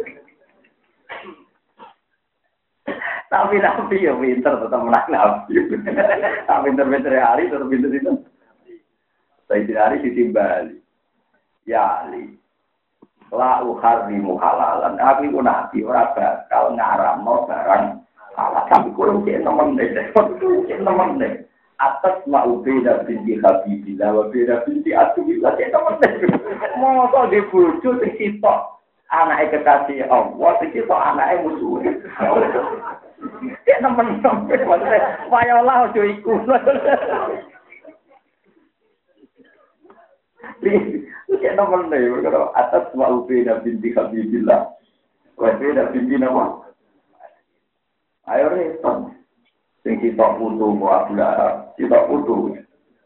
Tapi nabi ya pinter tetap menang nabi. Tapi pinter-pinter hari tetap pinter itu. Saya tidak hari ditimbali. Ya Ali. La uharimu halalan. Aku itu nabi orang bakal ngaram no barang halal. Tapi kalau cek nemen deh, cek nemen deh. Atas mau beda binti Habibillah, wa beda binti Atubillah, ya teman-teman. Mau kok dibujuk di situ, anaknya kekasih Allah, di situ anaknya musuhnya. Ya teman-teman, maksudnya, wayalah ojo ikut. Ya teman-teman, atas mau beda binti Habibillah, wa beda binti Nawa. Ayo respon. Sing kita putu buat belah, kita putu.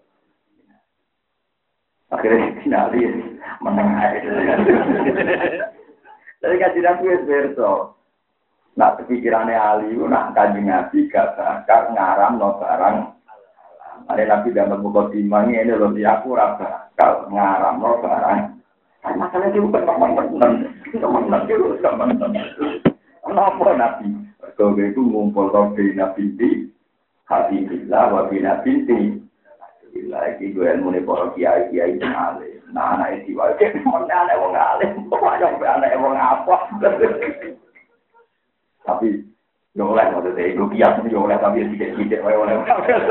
Akhirnya finali menang aja. Jadi kajian aku es berso. Nak pikirannya Ali, nak Kanjeng Nabi gak bakal ngaramno barang. Ada Nabi dalam buku timang ini loh, dia aku rasa kalau ngaramno barang. Kan masalahnya dia bukan teman-teman, teman-teman dia bukan teman-teman. Kenapa Nabi? Kalau itu ngumpul Nabi Nabi Habibullah wa bina binti. Bila iki gue ilmu ne para kiai kiai alim. Nah anak iki wae men anak wong alim. Kok aja anak wong apa. Tapi yo oleh ngono deh iku kiai yo oleh tapi sithik-sithik wae oleh.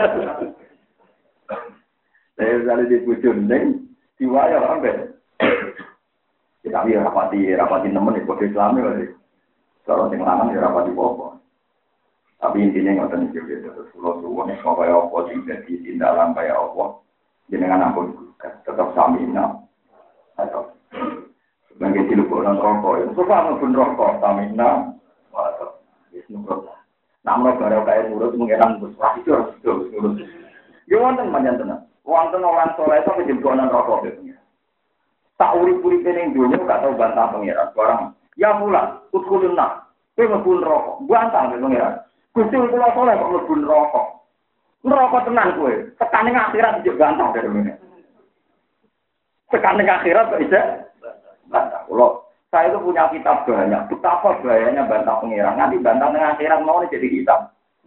Saya sale di bujun ning diwaya ambe. Kita biar rapati rapati nemen kok Islami wae. Kalau sing lanang ya rapati apa. Tapi intinya ngoten iki terus kula suwun kaya apa sing dadi tindakan kaya apa jenengan ampun tetap samina atau sebagai dilebok nang rokok itu apa pun rokok samina atau wis nurut namro bareng kaya nurut mengenang Gus wah itu harus nurut yo wonten panjang tenan wonten orang saleh itu dilebok nang rokok gitu tak urip-uripe ning dunya gak tau bantah pangeran barang ya pula utkulun nak kowe mlebu rokok bantah pangeran Gusti kula saleh kok mlebu neraka. Neraka tenan kowe. Tekane akhirat njek bantah karo ngene. Tekane akhirat kok isih bantah. Kula saya itu punya kitab banyak. Betapa bahayanya bantah pengiran. Nanti bantah tengah akhirat mau jadi kitab.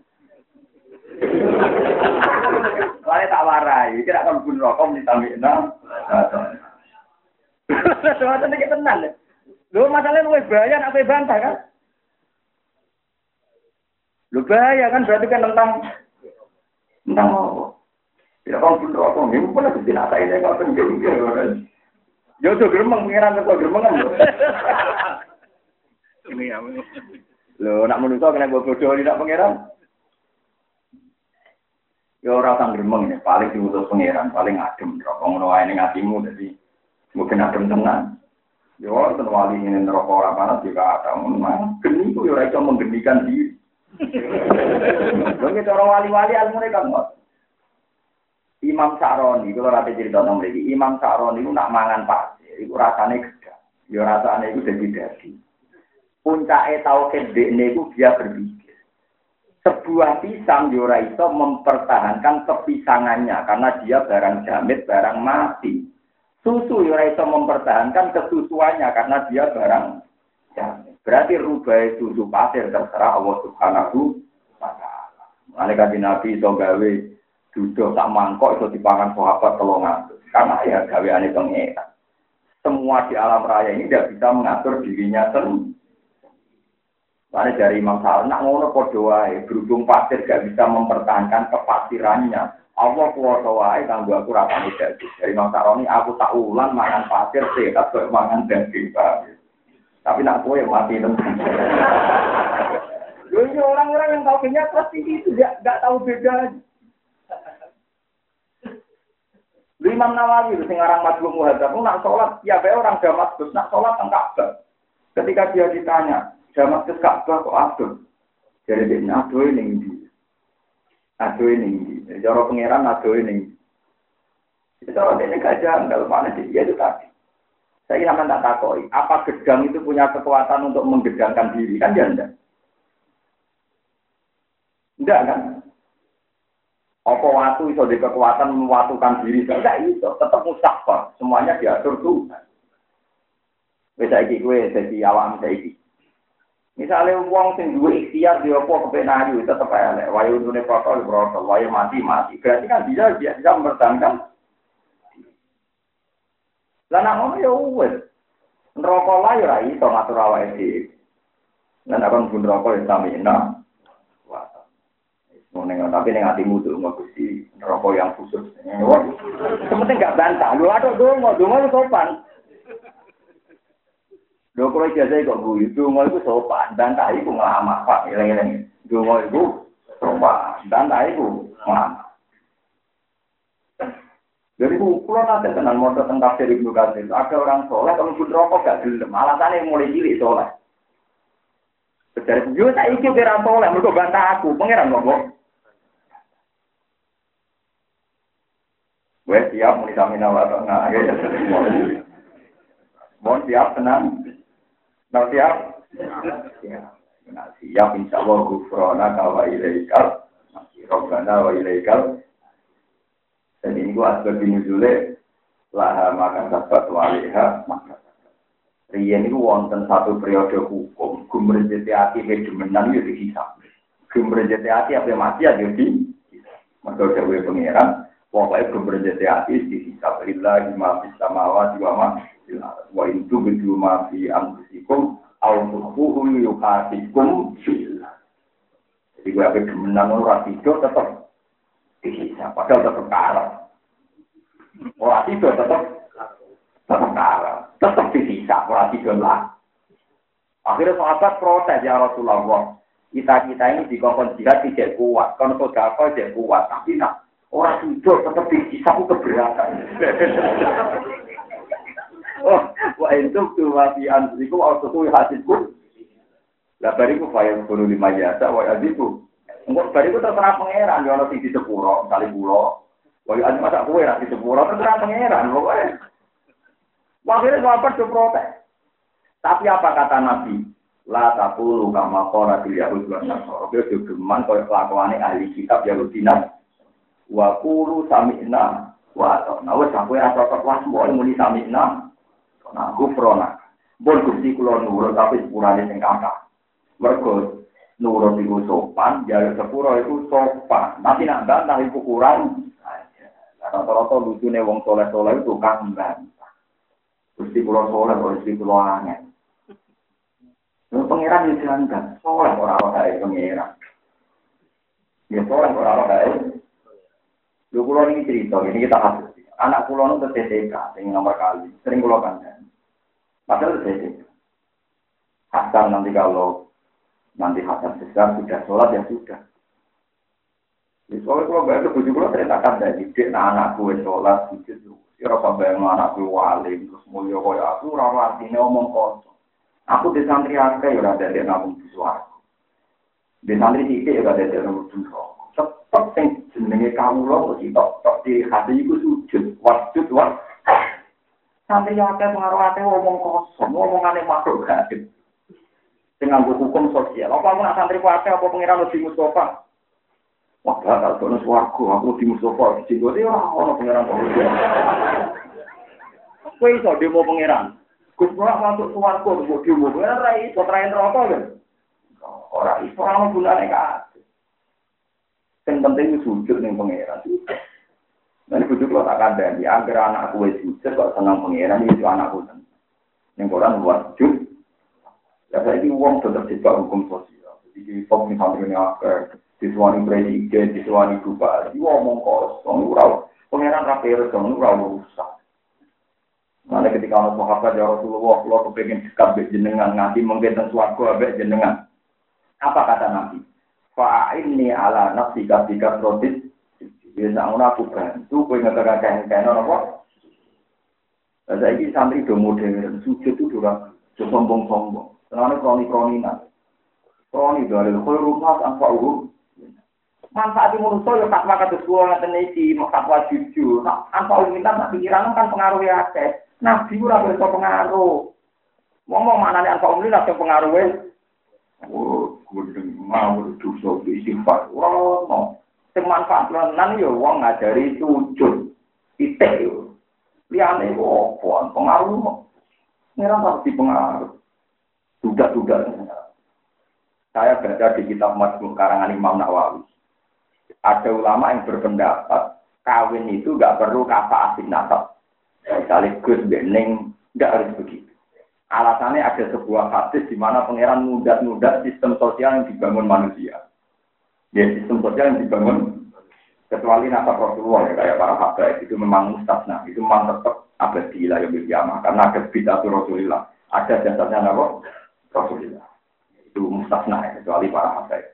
Saya tak warai. Kira akan mlebu neraka ditamina. Soalnya iki tenan. Lho masalahnya luwih bahaya nek bantah kan? Lu bahaya kan berarti kan tentang tentang apa? Tidak kan pun apa? Ini pun ada tidak saya ini kalau pengen Yo tuh geremeng pengiran atau geremengan lo. Ini ya. Lo nak menusuk kena bodoh tidak pengiran? Yo orang geremeng ya paling diutus pengiran paling adem. Rokok ngono ae ning atimu jadi mungkin adem tenang. Yo ten wali ini rokok ora panas juga ada. Memang geni ku yo ora iso menggenikan diri. Lha cara wali-wali almune kan mot. Imam Sa'roni, kalau rate cerita nang mriki, Imam Sa'roni iku nak mangan pasir, iku rasane gedhe. Ya rasane iku dadi-dadi. Puncake tauhid dekne iku dia berpikir. Sebuah pisang yo ora iso mempertahankan kepisangannya karena dia barang jamit, barang mati. Susu yo ora iso mempertahankan kesusuannya karena dia barang jamit. Berarti rubah susu pasir terserah Allah Subhanahu wa taala. Mane kanjeng Nabi iso gawe duduk sak mangkok iso dipangan sahabat telung atus. Karena ya gaweane pengeran. Semua di alam raya ini tidak bisa mengatur dirinya sendiri. Mane dari Imam Sa'roni nak ngono padha wae, berhubung pasir gak bisa mempertahankan kepasirannya. Allah kuwasa wae kanggo aku rapane dadi. Dari Imam Sa'roni aku tak ulang mangan pasir sehat kok mangan daging pasir. Tapi nak kowe mati tenan. Loh, ini orang-orang yang tahu kenyat pasti itu enggak enggak tahu beda. Imam Nawawi itu sing aran Majmu' Muhadzab nak salat ya bae orang Damaskus nak salat teng Ka'bah. Ketika dia ditanya, Damaskus Ka'bah kok adoh? Jadi dia adoh ning ndi? Adoh ning ndi? Cara pangeran adoh ning. Itu orang ini gajah kalau mana dia itu tadi. Saya sama tak takoi, apa gedang itu punya kekuatan untuk menggedangkan diri? Kan dia enggak. Enggak kan? Apa waktu itu ada kekuatan mewatukan diri? Enggak itu, tetap mustahfar. Semuanya diatur Tuhan. Bisa iki gue jadi awam saiki. Misalnya uang sing duwe ikhtiar di apa kepenayu tetap elek. Wayu dunia protol protol, wayu mati mati. Berarti kan dia dia bisa mempertahankan. Lah nek ngono ya wis. Neraka lah ya ora iso ngatur awake dhewe. Lan akan pun neraka ya samina. Wah. Ngono tapi ning atimu tuh Gusti neraka yang khusus. Sementing enggak bantah. Lho aduh dongo, dongo itu sopan. Lho kalau ijazah kok guyu, dongo itu sopan. Bantah iku ngelamak, Pak. Eleng-eleng. Dongo itu sopan. Bantah iku ngelamak. Jadi pulau nanti tenan motor tentang tafsir Ibnu Katsir. Ada orang soleh kalau pun rokok gak gelem. Alasannya mulai cilik soleh. Jadi yo tak iki kira soleh, mergo bantah aku, pangeran ngomong. Wes siap muni samina wa ta'ala. Mohon siap tenang. Nah siap. Ya. Nah, siap insyaallah ghufrana wa ilaikal masih robbana wa ilaikal. Dan ini gua asbab nuzule laha makan sabat waliha maka. Riyen niku wonten satu periode hukum, gumrejete ati kedemenan yo dihisab. Gumrejete ati ape mati ya di maka dewe pangeran, pokoke gumrejete ati dihisab lillahi ma fis samawati wa ma fil ardi wa in tubdu ma fi anfusikum aw tukhfuhu yuhasibukum billah. Jadi gue ape demenan ora tidur tetep dihisab, padahal tetep kalah. Ora tidur tetep tetep kalah. Tetap dihisab, orang tidur lah. Akhirnya sahabat protes, ya Rasulullah. Kita-kita ini di kongkong jihad tidak kuat. Kalau sodako tidak kuat. Tapi nak, orang tidur tetap dihisab, itu keberatan. Oh, wah itu tuh masih ansiku, waktu itu hasilku. Lah bariku fayang puluh lima jasa, wah aziku. Enggak, bariku terserah pangeran. Ya Allah, di sepuro, kali pulau. Wah aziku masa kue, di sepuro, terserah pangeran. Pokoknya. Akhirnya sahabat itu protes. Tapi apa kata Nabi? La taqulu kama qala bil yahud wa nasara. Dia geman koyo kelakuane ahli kitab Yahudi nan. Wa qulu sami'na wa ata'na. Wes sampe ora cocok wae mbok muni sami'na. Nah, gufrona. Bon Gusti kula nurut tapi sepurane sing kathah. Mergo nurut iku sopan, jare sepuro iku sopan. Nanti nak bantah iku kurang. Rata-rata lucune wong soleh-soleh itu tukang bantah. Gusti pulau soleh, gusti pulau angin. Lalu pangeran yang dilanggar, soleh orang-orang dari pangeran. Ya soleh orang-orang dari. Lalu pulau ini cerita, ini kita hasil. Anak pulau itu T T K, yang nomor kali, sering pulau kandang. Padahal T T K. Hasan nanti kalau nanti Hasan besar sudah sholat ya sudah. Di soalnya kalau bayar ke bujuk pulau ceritakan dari didik, nah anakku sholat sujud. Kira sampai anak wali terus mulia kaya aku ora artine omong kosong. Aku di santri akeh ora dadi nabung suaraku. Di santri sithik ora dadi nabung suaraku. Tetep sing jenenge kawula mesti tok tok di hati iku sujud, wajud wa. Santri akeh pengaruh akeh omong kosong, omongane makhluk gaib. Sing nganggo hukum sosial. Apa aku nak santri akeh apa pengiran Nabi Mustafa? Wah, kalau kono swarga, aku di Mustafa, di Jenggote ora ono pangeran kok. Kowe iso demo pangeran. Gus ora masuk swarga kok demo. Ora iso traen neraka lho. Ora iso ana gunane kabeh. Sing penting sujud ning pangeran. Nek kudu kok tak kandhani, anggere anakku wis sujud kok seneng pangeran iki anakku. Ning Quran wajib. Ya saiki wong tetep dijak hukum sosial. Iki pom misalnya akeh diswani presiden, diswani bupati, ngomong kosong, ura, pengenan rapi resong, ura rusak. Mana ketika orang sahabat ya Rasulullah, kalau kepengen dekat jenengan, nganti mungkin sesuatu abek jenengan. Apa kata Nabi? Fa'inni ala nafsi kasika protis, biasa aku bantu, kau ngatakan kain-kain apa? Saya ini santri do modern, sujud itu durang, sombong-sombong. Senangnya kroni-kroninan. Kroni dari rumah tanpa urut. Manfaat manusia ya tak makan sesuatu ngaten iki fatwa jujur. Nah, tanpa minta tak pikiran kan pengaruh ya akeh. Nabi ora berso pengaruh. Ngomong manane anfa umli langsung pengaruhe. Oh, kudu mau dosa istighfar. Ora ono. Sing manfaat lan yo wong ngajari sujud. Titik yo. Liyane opo pengaruh. Ngira pasti pengaruh. Duga-duga. Saya baca di kitab Majmu' karangan Imam Nawawi. Ada ulama yang berpendapat kawin itu nggak perlu kafah asing nasab. Sekaligus bening nggak harus begitu. Alasannya ada sebuah hadis di mana pangeran mudah-mudah sistem sosial yang dibangun manusia. Ya sistem sosial yang dibangun kecuali nasab Rasulullah ya kayak para habaib itu memang mustasna, itu memang tetap abadi lah yang berkiamah karena ada bid'ah Rasulullah, ada jasanya apa Rasulullah. Itu mustasna ya, kecuali para habaib.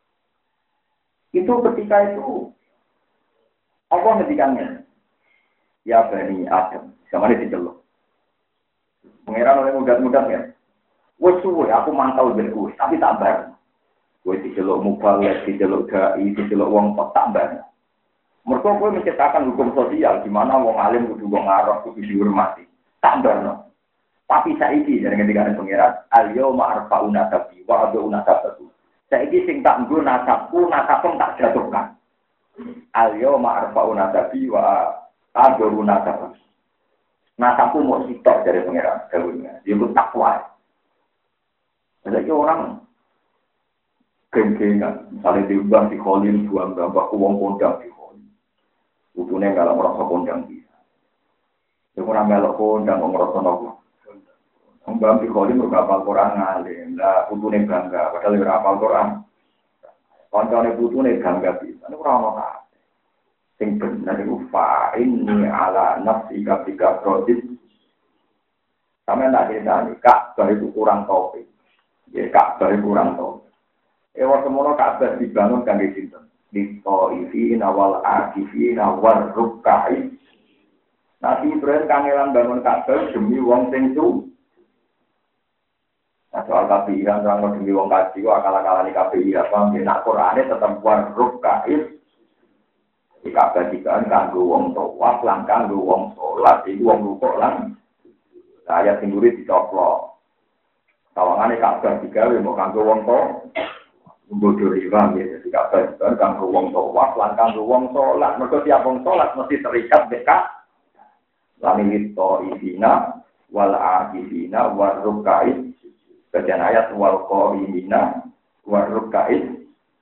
Itu ketika itu Allah ngedikannya ya Bani Adam sama ini diceluk pengeran oleh mudah-mudah ya wes suwe aku mantau berkuh tapi tak bar wes diceluk mubalek diceluk dai diceluk wong tak bar mereka kowe menciptakan hukum sosial di mana wong alim kudu wong arab kudu dihormati tak bar no Tapi saiki dari ketika ada pengiran, alio ma'arfa unasabi, wa adu unasabaku. Saiki sing tak nggo nasabku, nasabku tak jatuhkan. Alio ma'arfa unasabi, wa adu unasabaku. Nasabku mau sitok dari pengiran, jauhnya. Dia pun takwa. Jadi orang geng-gengan, misalnya diubah di kholim, buang gambar, uang kondang di kholim. Utuhnya kalau merasa kondang bisa. Dia kurang melok kondang, merasa nopo. Mbak di kholim juga hafal Quran ngalim, lah putune bangga, padahal dia hafal Quran. Koncone putune bangga bisa, ini kurang apa? Sing benar itu fa'inni ala nafsi ketika proses. Sampai tak cerita nih, Ka'bah itu kurang topik. Ya Ka'bah itu kurang topik. Ewa semono Ka'bah dibangun kan di situ. Di Taifin awal akifin awal rukkai. Nabi Ibrahim kangelan bangun Ka'bah demi wong sing su. Nah, soal K P I kan orang demi wong kaji, akal-akalan di K P I apa? Nak Qurannya tetap warruk kait. Di Ka'bah dikan kanggo wong tawaf, lan kanggo wong salat, iku wong rukuk lan. Ayat sing nguri dicoplok. Tawangane Ka'bah digawe mau kanggo wong tawaf. Bodoh riba ya, di Ka'bah dikan kanggo wong tawaf, lan kanggo wong salat. Mergo tiap wong salat mesti terikat dekat. Lan itu ibina wal akifina warruk kait. Bagian ayat wal qawimina wal ruk'a'id.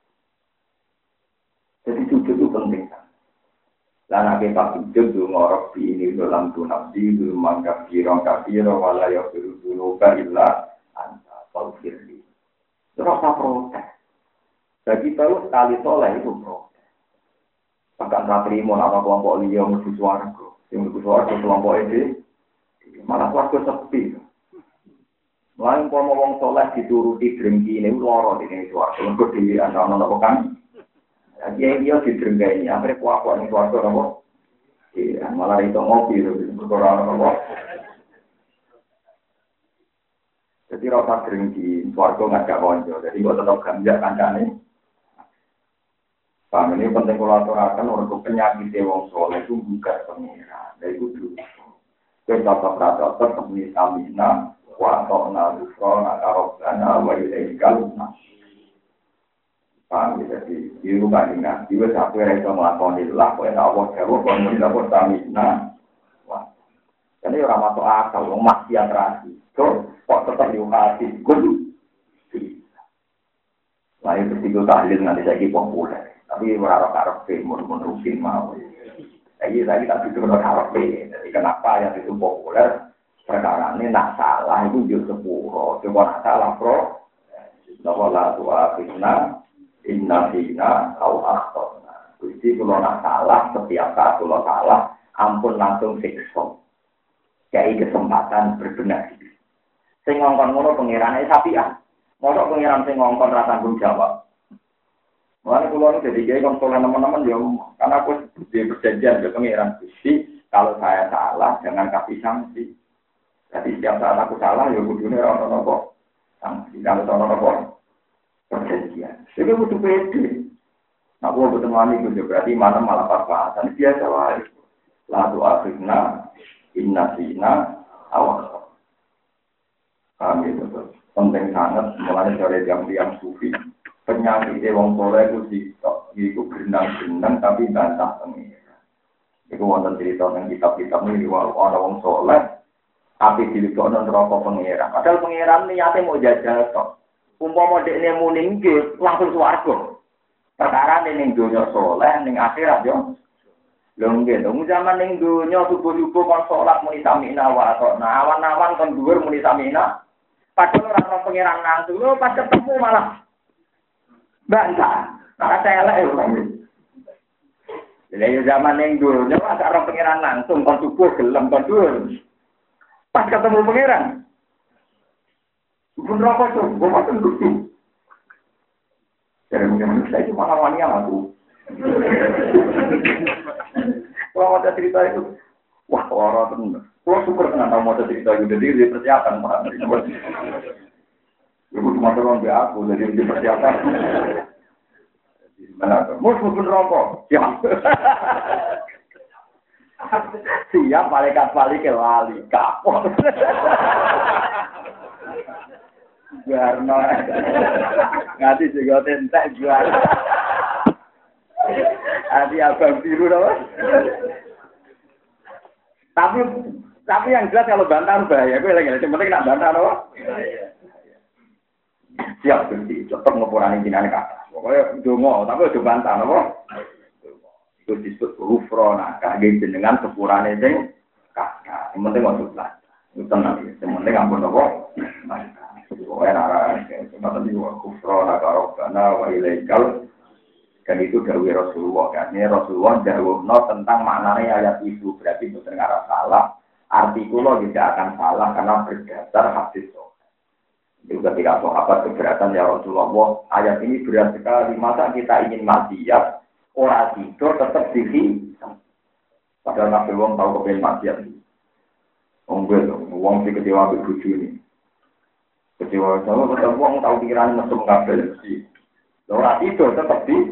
Jadi sujud itu penting kan. Dan akhirnya pas sujud itu ngorok di ini dalam tunabdi itu manggap kirong kafirong walayah dulu illa anta falfirli. Terus apa protes? Jadi tahu sekali soleh itu protes. Bahkan tak terima nama kelompok liya menuju suarga. Yang menuju suarga kelompok ini malah suarga sepi. Lain kalau wong soleh dituruti drengki ini loro di sini suarga. Untuk di antara nopo kan, dia dia didrengkai ini. Akhirnya kuat-kuat ini suarga nopo. Iya, malah itu ngopi berkorban nopo. Jadi rasa drengki suarga nggak ada konco. Jadi gua tetap ganjak kancane. Paham ini penting kalau aturakan orang penyakit wong soleh itu bukan pengira. Dari itu dulu. Kita tetap rata tetap misamina. Wa ta'na lusrona karobana wa ilaikal paham ya, jadi itu kan ingat juga sampai rasa melakoni lah kok enak Allah jawab kalau tidak bertamina wah jadi orang masuk akal orang maksiat rasi so kok tetap diukasi gue lah itu tiga tahlil nanti saya populer tapi berharap-harap menurut-menurutin mau jadi saya tak itu berharap jadi kenapa yang itu populer perkara ini nak salah itu juga sepuluh. Coba nak salah pro. Nawa la tu'a fitna inna fina au akhtona. Jadi kalau nak salah setiap saat kalau salah ampun langsung siksa. Kayak kesempatan berbenah. Sing ngongkon ngono pengirane sapian. Mosok pengiran sing ngongkon ra tanggung jawab. Mulane kula niku jadi kiai konsolan teman-teman ya karena aku di perjanjian ke pengiran Gusti kalau saya salah jangan kasih sanksi. Jadi setiap saat aku salah, ya kudune orang nopo sanksi, kalau orang nopo perjanjian. Jadi butuh pede. Nah, aku betul mani itu berarti mana malah pas-pasan biasa lah. Lalu akhirnya inna sina awal. Kami itu penting sangat mulai dari jam-jam sufi. Penyakit wong soleh itu sitok, itu berenang-berenang tapi bantah pengira. Itu wonten cerita tentang kitab-kitab ini orang wong soleh. Tapi dilebokno neraka pangeran. Padahal pangeran niate mau jajal tok. Umpama dekne muni nggih langsung swarga. Perkara ning donya saleh ning akhirat yo. Lho nggih, wong zaman ning donya subuh-subuh kon salat muni samina wa atona. Awan-awan kon dhuwur muni samina. Padahal ora ono pangeran langsung. Lho pas ketemu malah bantah. Ora elek lho. Jadi zaman ning donya ora ono pangeran langsung kon subuh gelem kon dhuwur. Pas ketemu pangeran, pun rokok tuh, gue makan lucu. Jadi mungkin saya itu malah wanita aku. Kalau ada cerita itu, wah orang tuh, gue syukur dengan tahu mau cerita itu, jadi dia persiapan pak. Ibu cuma tolong dia aku, jadi dia persiapan. Mana tuh, mus pun rokok, ya. Siap malaikat balik ke lali kapok. Garno. Ngati juga tentek jual. Adi abang biru loh. Tapi tapi yang jelas kalau bantah bahaya. Gue lagi yang penting nak bantah loh. Siap berarti tetap ngepurani jinan kata. Pokoknya dongo, tapi udah bantah loh. Itu disebut hufrona, kage jenengan sepurane sing kakak. Yang penting waktu belajar. Itu tenang ya. Yang penting ampun apa? Pokoknya arah semacam itu hufrona karobana wa ilaikal. Dan itu dawuh Rasulullah kan. Ini Rasulullah dawuhno tentang maknanya ayat itu. Berarti itu terdengar salah. Arti kula tidak akan salah karena berdasar hadis. Itu ketika sahabat keberatan ya Rasulullah, ayat ini berat sekali. Masa kita ingin mati ya? Orang tidur tetap diri. Padahal Nabi Wong tahu kepengen maksiat. Wong gue dong, Wong si kecewa bebuju ini. Kecewa sama betul Wong tahu pikiran mesum kabel sih. Orang tidur tetap di.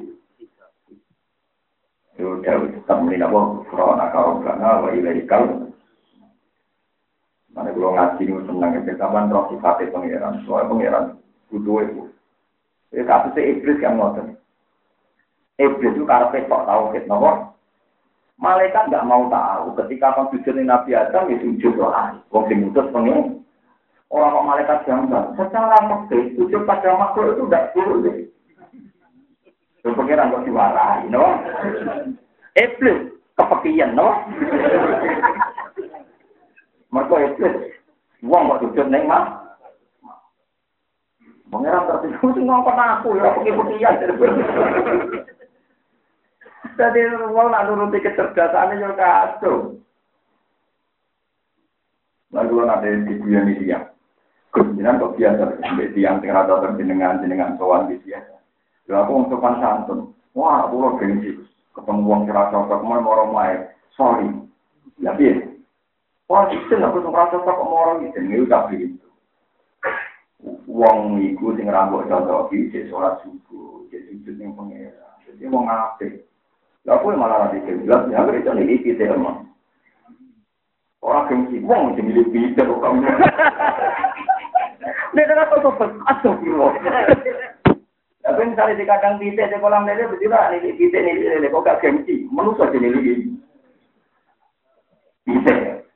Sudah tetap melina Wong. Corona kau karena wa ilaikal. Mana kalau ngaji ini senang kebetulan roh sifatnya pangeran. Soalnya pangeran kudu itu. Jadi kasusnya iblis yang ngotot. Iblis itu karena kok tahu kita nopo. Malaikat nggak mau tahu. Ketika kamu sujud di Nabi Adam, ya sujud doa. Wong sing mutus pengen. Orang kok malaikat jambang. Secara makhluk sujud pada makhluk itu tidak boleh. Itu pengiran kok diwarai, no? Iblis kepekian, no? Mereka iblis. Wong kok sujud neng mah. Pengiran tertidur sih ngomong aku ya peki-pekian. Jadi orang nak nuruti kecerdasannya juga kacau. Lalu ada di dunia dia, kemudian kok biasa sampai tiang tengah atau terjenengan jenengan soal di biasa. Lalu aku untuk santun, wah aku lo gengsi, ketemu uang cerasa kok mau orang lain, sorry, ya biar. Wah itu aku untuk rasa kok mau orang itu, ini udah begitu. Uang itu sing rambut contoh jadi sholat subuh, jadi sujud yang pengira, jadi mau ngapain? Aku malah nanti jelas, ya aku itu nih kita emang. Orang gengsi, wong jadi lebih kita kok kamu. Nih kan aku tuh asal kilo. Tapi misalnya di kadang kita di kolam lele betul lah, nih kita nih lele kok gak gengsi, manusia jadi lebih. Bisa.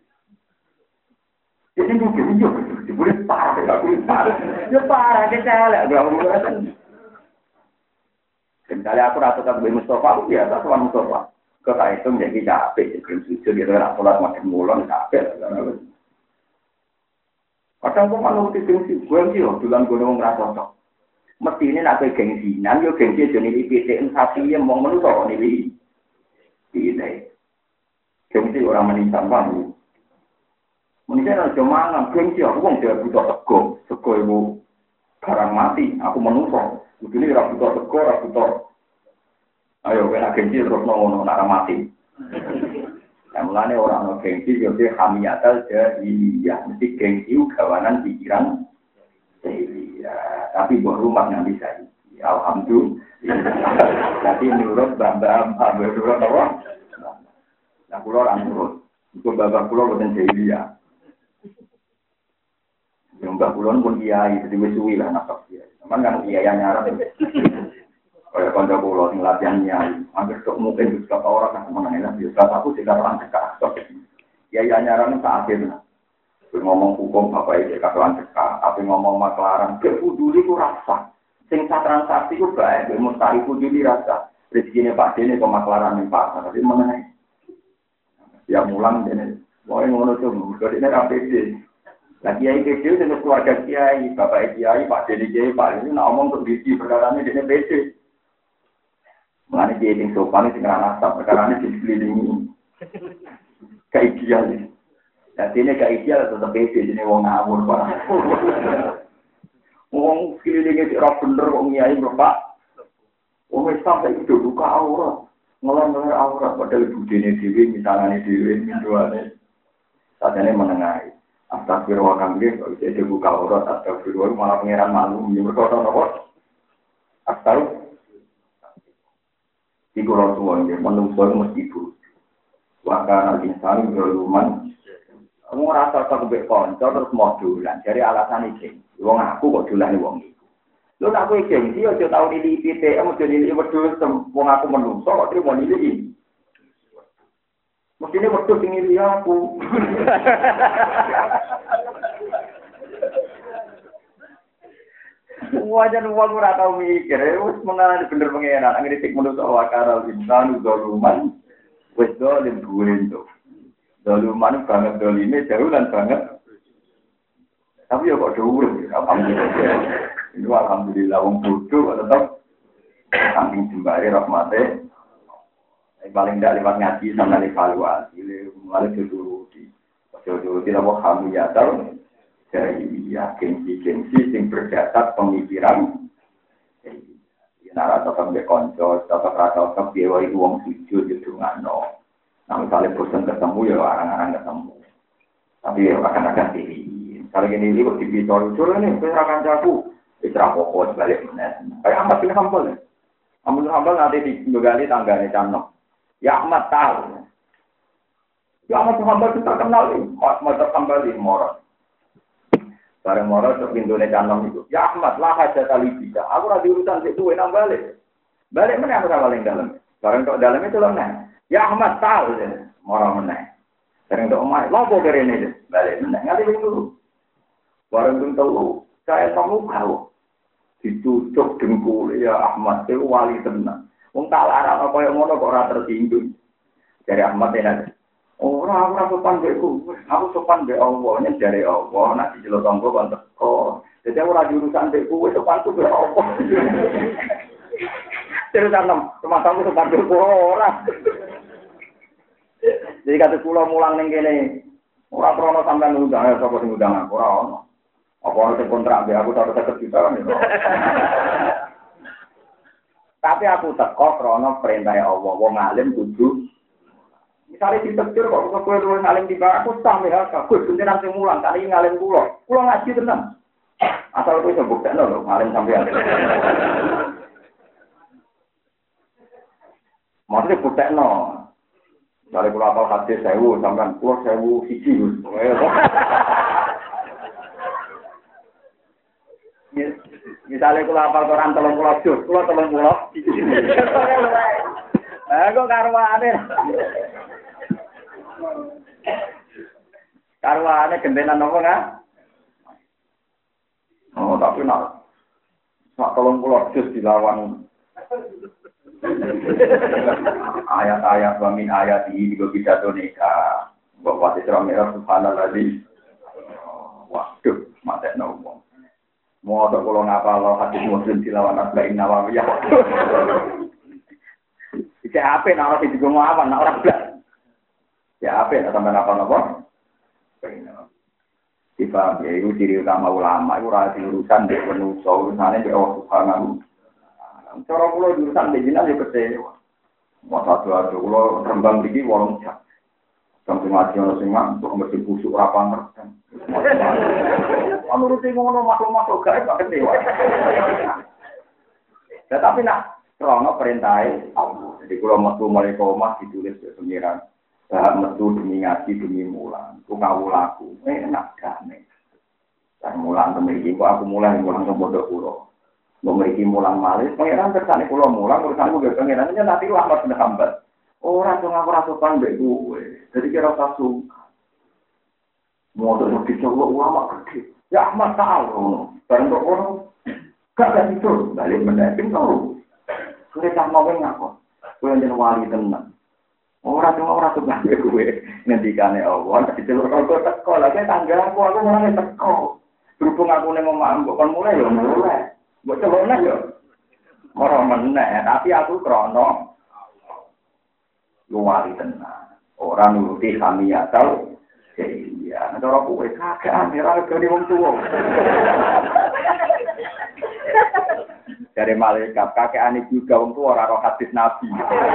Jadi itu gengsi juga, boleh parah, aku parah, ya parah kita lah, gak mau. Misalnya aku rasa tak boleh Mustafa, aku biasa tuan Mustafa. Kau tak itu menjadi capek, jadi sujud gitu, nak sholat makin mulon capek. Kadang aku malu di gengsi, gengsi loh, duluan gue ngomong rasa tak. Mesti ini nak ke gengsinan, yo gengsi jadi ini P T N sapi yang mau menusuk ini. Ini, gengsi orang menisan banget. Menisan ada mangan, gengsi aku mau dia butuh sego, sego ibu barang mati, aku menusuk. Begini rabu tor teko, rabu tor. Ayo kena gengsi terus nongol nak mati. Yang mulanya orang no gengsi jadi hamiatal jadi ya mesti gengsi kawanan pikiran. Ya, tapi buat rumah yang bisa. Alhamdulillah. Jadi nurut bambam, bambam nurut apa? Nah pulau orang nurut. Itu bambam pulau bukan jadi ya. Yang mbak pulau pun kiai, jadi wisuwi lah nak kiai. Cuman kan biaya nyaran kayak konco pulau yang latihannya hampir sok mungkin juga orang yang mengenai biasa aku tidak orang cekak biaya nyaran itu akhir ngomong hukum apa itu katakan cekak tapi ngomong maklaran kebuduli ku rasa sing transaksi ku baik mustahil kuduli rasa rezekinya Pak Dene ke maklaran yang pasar tapi mengenai ya mulang Dene mau ngono tuh jadi ini rapid lah kiai kecil dengan keluarga kiai, bapak kiai, pak jadi kiai, pak ini nak omong untuk bisi perkara ini dia B C. Mengenai kiai yang sopan ini dengan nasab perkara ini diselilingi keideal. Jadi ini keideal tetap B C jadi wong ngawur pak. Wong sekelilingi si roh bener wong kiai bapak. Wong sampai itu buka aurat, ngelar-ngelar aurat padahal budene dewi, misalnya dewi, minduane. Saat ini menengahi. Astagfirullah kambing, kalau bisa dibuka aurat, astagfirullah malah pengeran malu, yang berkata apa? Astagfirullah. Iku Rasulullah, menungso mesti ibu. Wakana insani zaluman. Kamu rasa tak kebek konco terus modulan. Dari alasan iki. Wong aku kok dolane wong iku. Lho nak kowe gengsi aja tau nili P T M aja nili wedhus wong aku menungso kok trimo nili iki. Mestine wedhus sing nili aku. Wajan uang ora tau mikir, wis mengarani bener pengenan, ngritik menungso wakara insan zaluman. Wis dolim buento. Zaluman banget dolime jauh lan banget. Tapi ya kok dhuwur, alhamdulillah. Ini alhamdulillah wong bodoh tetep saking jembare rahmate. Paling ndak lewat ngaji sama evaluasi, mulai dituruti. Dituruti apa kamu ya tahu? Dari ya gengsi-gengsi sing berdasar pemikiran. Ya nara tetep mbek kanca, tetep ra tetep piye wae wong sujud didongano. Nah, misalnya bosan ketemu ya orang-orang ketemu. Tapi ya akan-akan diri. Kalau gini ini kok dibicor-bicor ini, saya akan jago. Istirahat pokok sebalik benar. Kayak Ahmad bin Hanbal. Ahmad bin Hanbal nanti digali tangganya Camno. Ya Ahmad tahu. Ya Ahmad bin Hanbal kita kenal ini. Ahmad bin Hanbal ini moral. Bareng moral ke pintunya Camno itu. Ya Ahmad lah aja tali bisa. Aku lagi urusan itu enak balik. Balik mana aku sama paling dalam. Bareng kok dalamnya itu lemah. Ya Ahmad tahu deh. Moral mana. Bareng kok omah. Lopo kere ini deh. Balik mana. Ngerti dulu. Barang itu tahu, saya kamu tahu, ditutup dengkul ya Ahmad itu wali tenang. Wong tak larang apa yang ngono kok ora tersinggung. Dari Ahmad ini, orang orang sopan beku, aku sopan be Allah, nya dari Allah, nanti jelo tonggo bantu kok. Jadi orang jurusan beku, sopan tuh be Allah. Terus tanam, rumah kamu sopan beku orang. Jadi kata pulau mulang neng kene, orang krono sampai ngundang, ya sopo sing ngundang aku orang. Apa orang kontrak biar aku tahu seket juta kan? Tapi aku teko krono perintah Allah, wong alim kudu. Misalnya ditegur kok kok kowe luwih alim tiba aku sampe hal kabeh jenengan sing mulang kali ngalim kula. Kula ngaji tenan. Asal kowe iso buktekno lho alim sampean. Maksudnya buktekno. Misalnya kula apal hadis sewu sampean kula sewu siji. Misalnya kalau hafal Quran telung puluh juz, kalau telung puluh, eh kok karwane, karwane gentenan apa nggak? Oh tapi nak, nak telung puluh juz dilawan ayat-ayat wamin ayat ini juga bisa donika, bapak Isra Mi'raj Subhanallah di, waduh mati ngomong. Mau tak kalau ngapa lo hadis Muslim dilawan Arba'in Nawawiyah. Iki apa nak orang itu mau apa nak orang belas. Ya apa nak sampai apa nopo? Tiba ya itu ciri utama ulama itu rasa urusan di manusia urusannya di Allah Subhanahu. Cara pulau urusan di jinak ya kecewa. Mau satu satu pulau rembang lagi warung cak. Sampai mati orang semua untuk mesti busuk rapan terus. Menurut ngono makhluk-makhluk gaib gak kecewa. Tetapi nak krono perintahe Allah. Jadi kalau metu mulai omah ditulis ke pengiran. Bahak metu demi ngaji demi mulang. Ku kawulaku enak damai. Dan mulang temriki kok aku mulang mulang bodoh kula. Memiliki mulang malih pengiran kersane kula mulang urusan ku pengiran nya nanti lambat bener hambat. Ora tuh ngaku rasa pandai gue. Jadi kira rasa suka. Mau tuh dicoba ulama gede. Ya Ahmad tahu. Barang kok orang gak ada itu. Balik mendamping tahu. Kita mau ngaku. Gue yang wali tenang. Orang tuh orang tuh nggak gue. Ngendikane Allah. Di jalur kalau teko lagi tangga aku aku mulai teko. Berhubung aku nih mau mampu kan mulai ya mulai. Buat coba nih ya. Orang meneh. Tapi aku krono. Luari tenang, orang nuruti kami ya tahu, iya, nanti orang kue kakek aneh, orang kau di wong tua. Dari malaikat kakek aneh juga wong tua orang roh hadis nabi.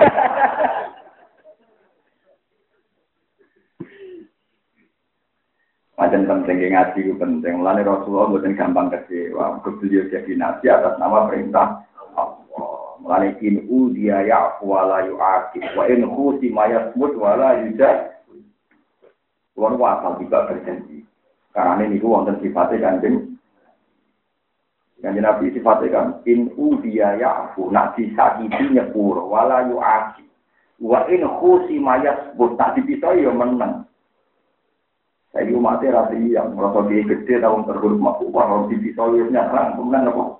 Macam penting ngaji itu penting, mulanya Rasulullah bukan gampang kecewa, beliau jadi nabi atas nama perintah Allah. Wala in udiya ya'fu wala yu'aqib wa in khusima yasmut wala yujad. Kulo wasal juga berjanji. Karena ini wonten sifatnya kanjeng. Kanjeng Nabi sifatnya kan in udiya ya'fu nak disakiti nyepuro wala yu'aqib. Wa in khusima yasmut tak dipisah ya menang. Saya umatnya rasi yang merasa dia gede tahun terhormat kalau dipisah ya nyerang kemudian apa?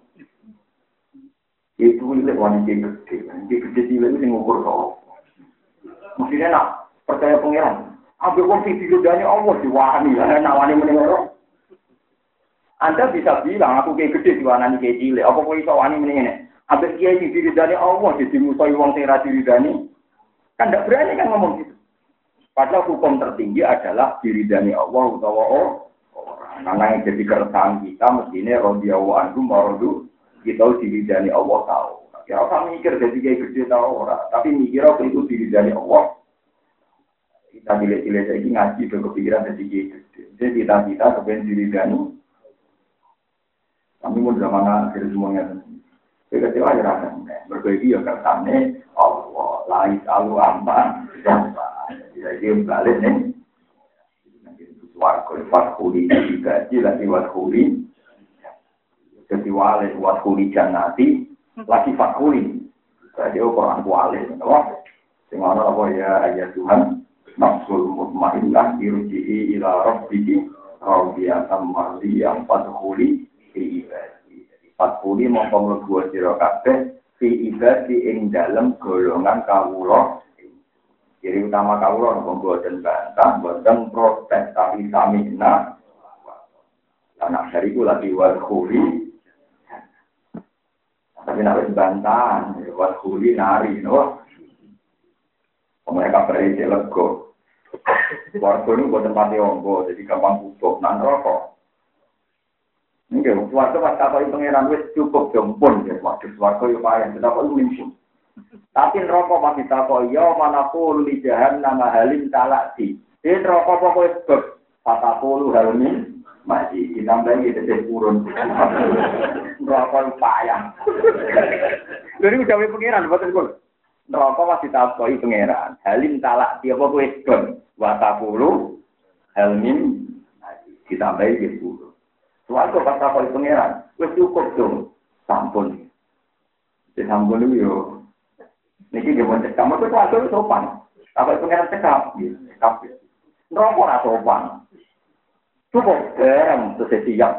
Itu ini wanita gede, wanita gede sih itu ngukur kau. Maksudnya nak percaya pengiran. Ambil uang video dari Allah diwani, nak wani menengok. Anda bisa bilang aku kayak gede diwani kayak cilik. Apa kau bisa wani menengok? Ambil kiai video dari Allah jadi musuh uang tera diri dani. Kan tidak berani kan ngomong gitu. Padahal hukum tertinggi adalah diridani Allah utawa orang. Karena yang jadi keresahan kita mestinya radhiyallahu anhu maradu kita diridani Allah tahu. Ya orang mikir jadi kayak gede tahu orang, tapi mikir apa itu diridani Allah. Kita pilih-pilih lagi ngaji ke kepikiran jadi kayak gede. Jadi kita-kita kepengen diridani. Kami mau zaman akhir semuanya. Kita kecewa ya rasanya. Berbagi ya keresahannya Allah. Lain selalu aman. Jadi balik nih. Warga wakhuli digaji lagi wakhuli. Jadi wale wakhuli jannati lagi wakhuli. Jadi orang wale, loh. Sehingga apa ya ayat Tuhan nafsul mutmainnah irji'i ila rabbiki radiyatan mardiyatan fadkhuli fi ibadi. Fadkhuli mongko mlebu sira kabeh fi ibadi ing dalem golongan kawula. Ciri utama kawula nopo boten bantah, boten protes tapi samina. Anak dari itu lagi wadkhuli. Tapi nak wis bantahan, wadkhuli nari, no. Mereka berisi lego. Warga ini boten pati ombo, jadi gampang butuh nan rokok. Nggih, warga pas takoi pangeran wis cukup jompon, ya. Waduh, warga yo payah, tetap lumpuh. Tapi rokok masih takoi, ya manapun li jahannam halim talati. Ini rokok pokoknya sebab patapulu halmin masih ditambahi teteh turun. Rokok payah. Jadi udah punya pengiran, betul betul. Rokok masih takoi pengiran. Halim talati apa pokoknya sebab patapulu halmin ditambahi teteh turun. Suatu pas takoi pengiran, wes cukup dong, sampun. Di sampun itu yo. Niki dia mau cekap, itu tuh sopan. Apa itu pengen cekap? Cekap. Rokok lah sopan. Cukup, garam, terus siap.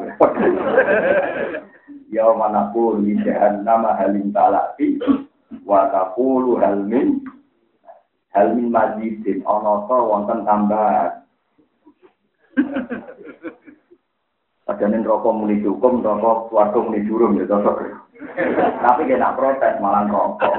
Ya manapun, lijahan nama halim talati, watapulu halmin, halmin majidin, onoto, wonten tambahan. Padahal rokok muni cukup, rokok warga muni jurum, ya cocok. Tapi dia nak protes malah rokok.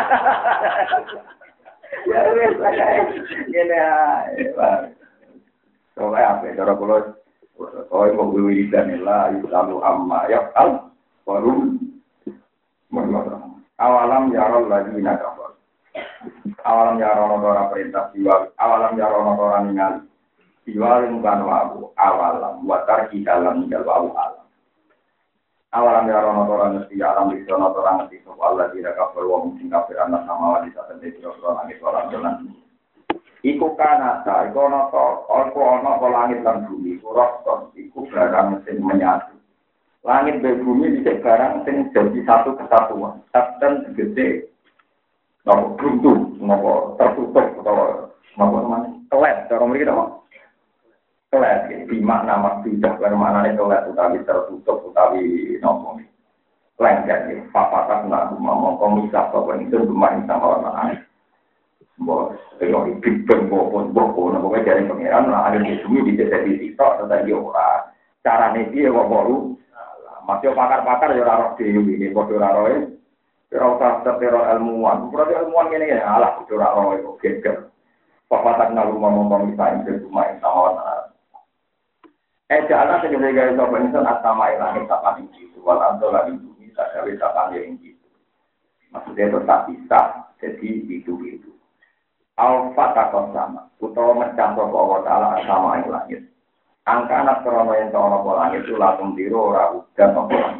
Ya wes saya ini ya. Soalnya apa? Cara kalau kalau mau beli danilah lalu amma ya al baru menurut awalam yarol lagi nak apa? Awalam yarol orang perintah jiwa. Awalam yarol orang ingat jiwa bukan wabu. Awalam watar kita dalam jalwa alam. Awalam ya rono orang mesti alam di sana orang mesti soal lagi ada kabar wong sing kafir anak sama wali saten di orang langit orang jalan. Iku kanata, iku ono to, iku ono to langit lan bumi, roston, iku barang sing menyatu. Langit dan bumi bisa barang sing jadi satu kesatuan. Saten segede, nopo buntu, nopo tertutup atau nopo namanya kelet, cara mereka nopo. Kelet, di makna maksudnya, bermaknanya kelet utawi tertutup utawi nopo. Lengket, papatak nak ngomong komisah, bahwa itu bermain sama orang lain. Bos, kalau big bang bopon bopon, nopo dari pangeran, lah ada di sini di desa di situ, tetapi orang cara dia kok baru, masih pakar-pakar ya orang di ini, bodoh orang orang tak terteror ilmuwan, berarti ilmuwan ini ya, alah bodoh orang itu geger. Papatak nak ngomong komisah itu bermain sama orang lain. Eh, jalan segala gaya sopan insan asama ilangit sapan yang gitu. Walau lagi bumi tak ada sapan yang gitu. Maksudnya tetap bisa. Jadi itu-itu. Alfa takon sama. Utawa mencampur Allah Ta'ala asama ilangit. Angka anak krono yang tahu nopo langit itu langsung diro ora udan nopo langit.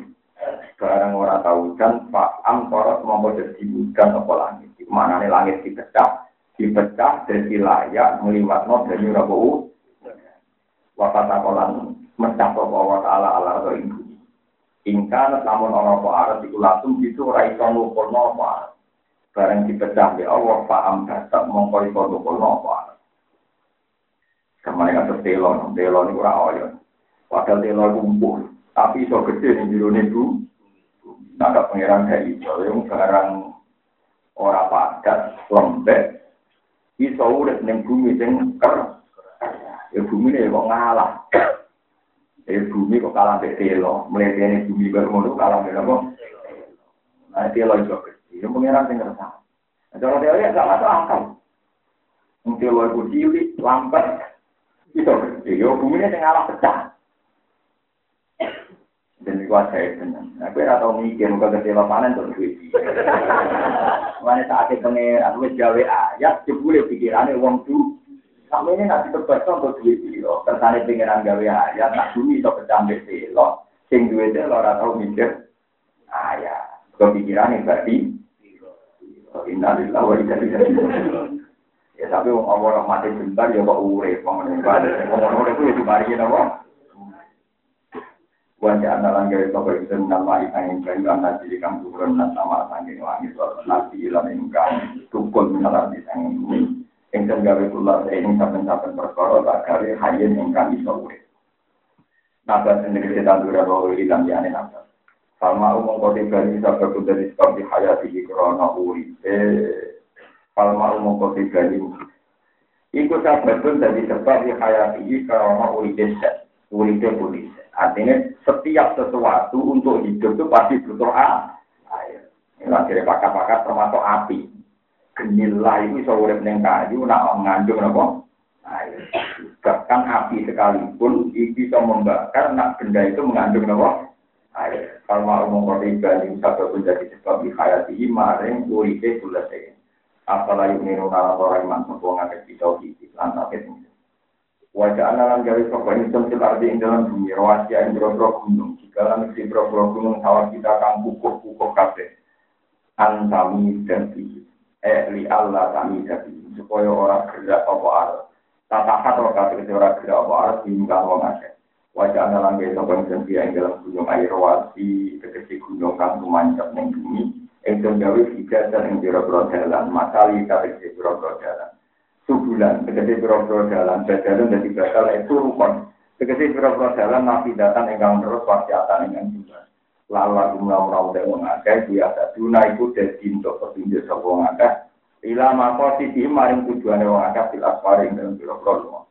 Barang ora tahu dan Pak Am korot mau jadi hujan apa langit. Mana nih langit dipecah, dipecah dari layak meliwat no dari rabu. Wakat akolan mencakup Allah Taala ala atau ibu. Ingkar namun orang apa arah itu langsung itu raiso nukul no apa. Barang dipecah di Allah Pak Am datang mengkori nukul no apa. Kemarin ada telon, telon itu rawon. Padahal telon kumpul, tapi so gede nih biru itu. Ada pengiran dari itu, yang barang orang padat, lembek, iso urip ning bumi sing ker. Ya bumi ini kok ngalah. Ya bumi kok kalah mbek telo, mletene bumi baru ngono kalah mbek apa? Nah, telo iso gede. Ya pengiran sing ngerasa. Cara teori gak masuk akal. Wong telo iku cilik, lambat, iso gede. Ya bumi ini sing ngalah pecah. Dan itu saya tenang. Aku tidak tahu mikir, muka kecewa panen untuk duit. Mana saatnya pengen, aku gawe ayat, jebule pikirannya uang tu. Sampai ini nanti terbaca untuk duit. Kesannya pengenan gawe ayat, nak bumi itu kecambik silo. Sing duitnya lo tidak tahu mikir. Ayat. Kepikirannya berarti. Innalillah wa inna ilaihi raji'un. Ya tapi orang mati bentar, ya kok urip. Orang-orang itu ya dibarikin apa? Wajah analan gaya sopo itu nama itangin kayu anak jadi kamu turun dan sama tanggung langit soal nasi ilan ingkang tukul menalar di tanggung ini. Engkau gawe pulau ini saben-saben perkara tak gawe hayen ingkang iso urip. Nabas sendiri sedang dura bahwa ilang jane nabas. Falma umum kode gani sabda dari sebab di hayati di korona urip. Eh, falma umum kode gani. Ikut sabda pun dari sebab di hayati di korona urip deset, urip polis. Artinya setiap sesuatu untuk hidup itu pasti butuh air. Ini akhirnya pakar-pakar termasuk api. Genilah itu bisa urip ning kayu, nak mengandung apa? Air. Bahkan api sekalipun itu bisa membakar, nak benda itu mengandung apa? Air. Kalau mau mengkori bani satu pun jadi sebab dihayati maring uripe selesai. Apalagi menurut orang iman semua ngakak kita di lantas itu. Wajah analan garis sopan itu arti ing dalam bumi rawasi yang berobro gunung jika lan si berobro gunung sawah kita akan pukul-pukul kafe antami jadi eh li Allah kami jadi supaya orang gerak apa arah tata atau kata orang gerak apa arah hingga wong akeh wajah analan garis sopan itu yang dalam gunung air rawasi kekeci gunung kan memanjat ning bumi ing gawe tiga dan ing berobro jalan matali kata berobro jalan subulan, tegesi biro-biro jalan, jalan dari bakal itu rukun. Tegesi biro-biro jalan, nabi datang engkang terus, wasiatan engkang juga. Lala gumlau-rau dewang agak, biasa duna itu jadi untuk petunjuk sebuah agak. Ila mako sisi maring tujuan dewang agak, silas paring dalam biro-biro.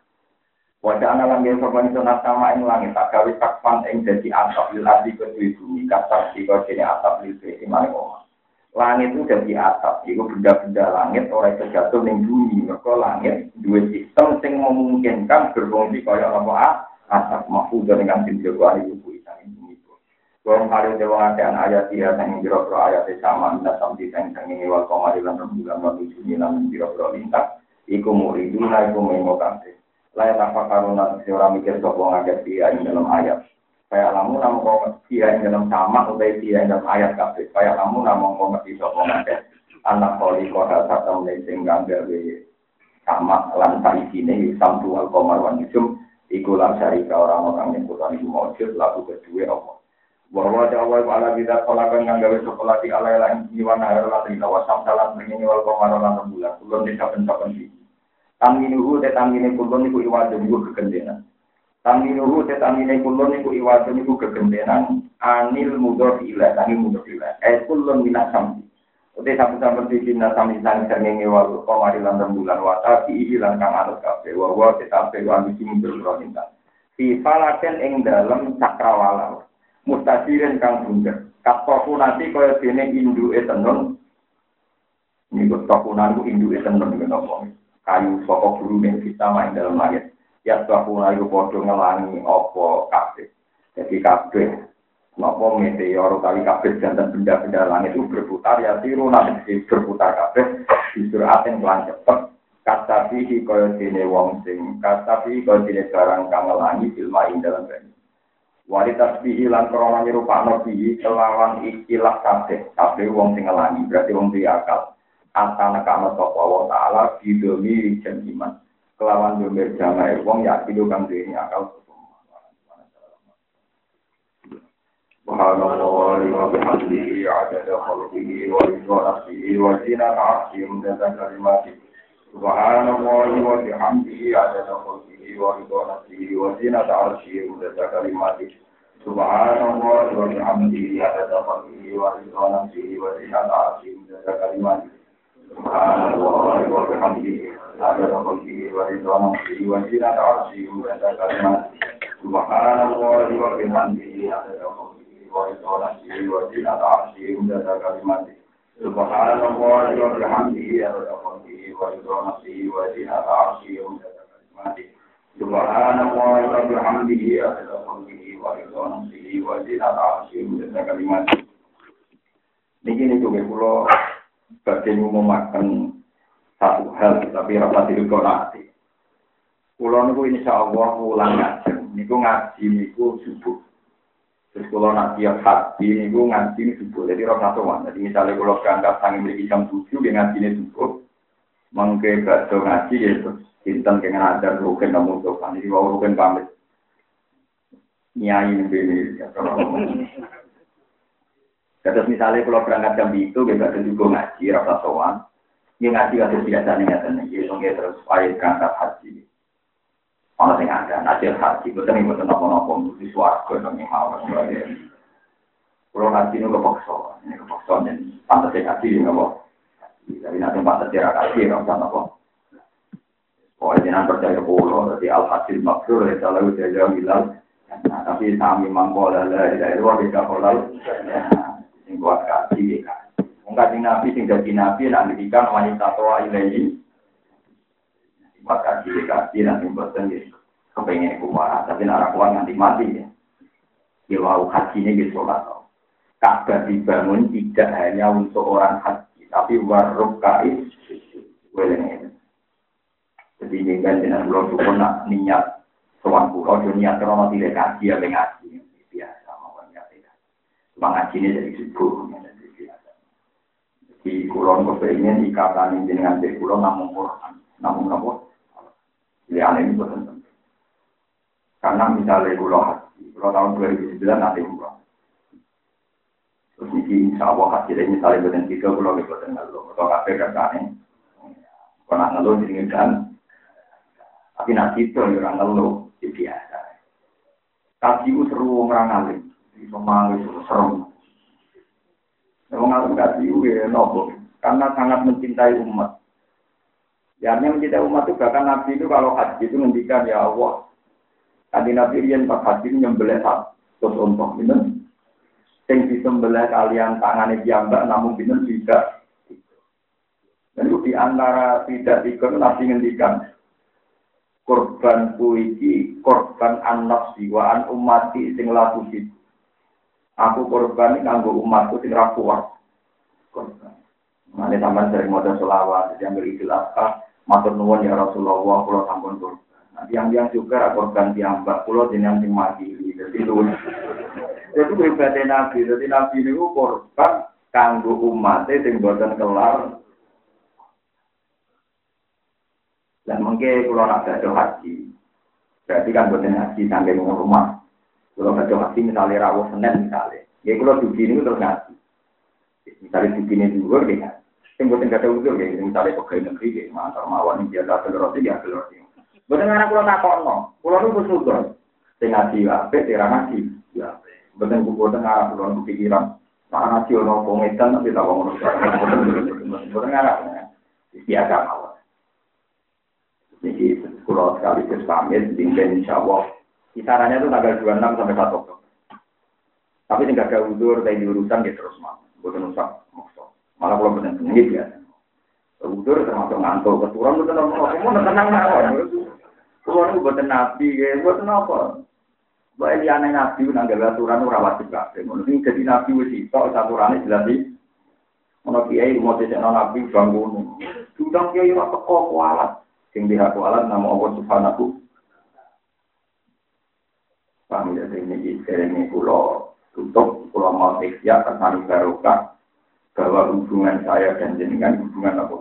Wajah anak langit sopan itu nasama ing langit, tak gawe takpan ing jadi atap, lilasi kedui bumi, kasar si kau jenis atap lilasi maring omah. Langit itu jadi atap, itu benda-benda langit orang terjatuh ning bumi. Maka langit dua sistem yang memungkinkan berfungsi kaya apa atap mahfud dengan sinjauh itu buitan bumi itu. Kalau kali dewa akan ayat dia yang biro-biro ayat sama minta sampai yang ini wal komadilan rembulan waktu Juni namun biro-biro lintas. Iku muriduna iku mengokante. Layak apa karuna seorang mikir sopong agak dia dalam ayat. Kayak lamu namun kau dia yang dalam sama atau dia yang dalam ayat kabeh. Kayak lamu namun kau ngerti sopong agak anak koli kau dasar tamu sehingga gawe sama lantai sini samtu al komarwan itu ikulah syarika orang-orang yang kutan itu maujud lalu kedua apa. Bahwa jawab ala bidat kolakan yang gawe sekolah di alai lain jiwana herlan rina wasam salam begini wal komarwan bulan kulon di saben-saben sini. Taminuhu tetamine kulon itu iwadah juga kegendenan. Taminuhu tetamine kulon itu iwadah itu kegendenan. Anil mudor ilah, anil mudor ilah. Eh kulon minasam. Udah saben-saben di sini sami sang sernenge wal komarilan rembulan wata diilang kang anut kabeh wa wa tetapi wan sing berproninta. Fi falaken ing dalem cakrawala. Mustadiren kang bunder. Kapoku nanti kaya dene induke tenun. Niku tokunan ku induke tenun niku napa. Kayu saka gurune kita main dalam langit. Ya tokunan iku padha ngelangi apa kabeh. Jadi kabeh napa meteor kali kabeh jantan benda-benda langit itu berputar ya tiru nanti berputar kabeh justru aten kelan cepet kata pihi kaya dene wong sing kata pihi kaya dene barang kang ngelangi ilmu ing dalam banyu Wali tasbihi lan krana nyerupakno bihi kelawan ikilah kabeh. Kabeh wong sing ngelangi, berarti wong duwe akal. Asal nekakno sapa wa taala bidomi jan iman. Kelawan domir jamae wong ya kido kang duwe akal. Subhanallah wa bihamdihi adada khalqihi wa ridha nafsihi wa zinata 'arsyihi wa kalimatihi. Subhanallah wa bihamdihi adada khalqihi wa ridha nafsihi wa zinata 'arsyihi wa kalimatihi. Subhanallah wa bihamdihi adada khalqihi wa ridha nafsihi wa zinata 'arsyihi wa kalimatihi. Subhanallah wa bihamdihi adada khalqihi wa ridha nafsihi wa zinata 'arsyihi wa kalimatihi. Subhanallah wa bihamdihi adada wa isolasi wa zinata arsyihi wa kalimatihi. Subhanallah wa bihamdihi adada khalqihi wa isolasi wa zinata arsyihi wa kalimatihi. Subhanallah wa bihamdihi adada khalqihi wa isolasi wa zinata arsyihi wa kalimatihi. Niki niku kula badhe ngumumaken satu hal tapi ora dilekoni. Kula niku insyaallah ulang ngaji. Niku ngaji niku subuh. Terus kalau nak tiap hati ini gue ngaji ini subuh, jadi roh satuan. Jadi misalnya kalau berangkat sangi beli jam tujuh, dia ngaji ini subuh. Mungkin bakso ngaji gitu, intan dengan ajar rugen namun tuh kan, jadi bawa rugen pamit. Nyai ini ya kalau terus misalnya kalau berangkat jam itu, dia bakso juga ngaji roh satuan. Dia ngaji kasus biasa nih katanya, jadi mungkin terus supaya berangkat haji. Orang yang ada, najil haji, betul ini betul nopo-nopo, di suarga, yang mau, sebagainya. Kalau haji ini kepaksa, ini kepaksa, dan pantasnya haji ini nopo. Tapi nanti pantasnya haji, nopo, nopo. Pokoknya jangan percaya pulau, jadi al-hasil maksur, ya selalu jauh bilang, tapi kami mangkola, dari luar bisa kolal, yang buat haji, mungkin nabi, sing jadi nabi, nantikan wanita tua ilahi, maka diri kasih nanti bosan gitu, kepengen kuat, tapi nara kuat nanti mati ya. Dia mau haji ini gitu lah. Ka'bah dibangun tidak hanya untuk orang haji, tapi waruk kais, welengnya. Jadi ini kan dengan pulau Sukun nak niat soal pulau, dia niat kalau tidak kaji ya mengaji biasa mau niat tidak. Mengaji ini jadi subuh, jadi biasa. Di pulau kepengen ikatan dengan di pulau namun Quran, namun namun pilihan ini betul penting. Karena misalnya pulau haji, pulau tahun dua ribu sembilan nanti umroh. Terus ini insya Allah hasilnya misalnya betul tiga pulau betul ngeluh, atau kafe kerjanya. Kalau ngeluh diinginkan, tapi nanti itu orang ngeluh itu biasa. Kaji itu seru orang ngalim, di Somali itu seru. Memang ngalim kaji itu ya nopo, karena sangat mencintai umat. Ya, yang mencintai umat itu bahkan Nabi itu kalau haji itu ngendikan ya Allah. Tadi Nabi yang pas haji nyembelih satu untuk minum. Yang disembelih kalian tangannya diambak namun minum tidak. Dan itu diantara tidak ikut Nabi ngendikan korban puisi, korban anak siwaan umati sing laku itu. Aku korban ini nganggo umatku sing rakuat. Korban. Nanti sampai sering modal selawat, jadi ambil idul adha, matur nuwun ya Rasulullah, pulau sampun korban. Nanti yang yang juga korban diambak, pulau jenang sing mati, jadi itu. Itu ibadah Nabi, jadi Nabi ini korban kanggo umatnya sing boten kelar. Dan mungkin pulau nak ada haji, berarti kan boten haji sampai rumah. Pulau ada haji misalnya rawuh Senin misalnya, ya pulau dugi ini terus ngaji. Misalnya dugi ini juga dia. Yang buatan kata udur ya, misalnya pegawai negeri ya, mantar mawar ini biasa telur dia telur dia. Buatan anak pulau nak kono, pulau itu bersyukur. Tengah dia, tengah ngaji, ya. Buatan buatan anak pulau itu pikiran, nak ngaji orang pengetan tapi tak bangun. Buatan anak, biasa mawar. Jadi pulau sekali tersamil, tinggal insya Allah. Kisarannya itu tanggal dua puluh enam sampai satu Oktober. Tapi tidak ada udur, dari urusan dia terus mau, buatan usah. Malah kalau benar benar biasa. Udur termasuk ngantuk, keturun betul apa? Kamu tenang mawon. Keluar buatan nabi, buatan apa? Baik dia aneh nabi, nanggal aturan ora wajib kabeh. Mungkin jadi nabi wis iso aturane jelas iki. Ono kiai mau dhisik nabi bangun. Sudah kiai ora teko kualat. Sing diha kualat nama Allah Subhanahu. Paham ya ini Ini pulau tutup, pulau mau ikhya, kesan barokah, bahwa hubungan saya dan jenengan hubungan apa?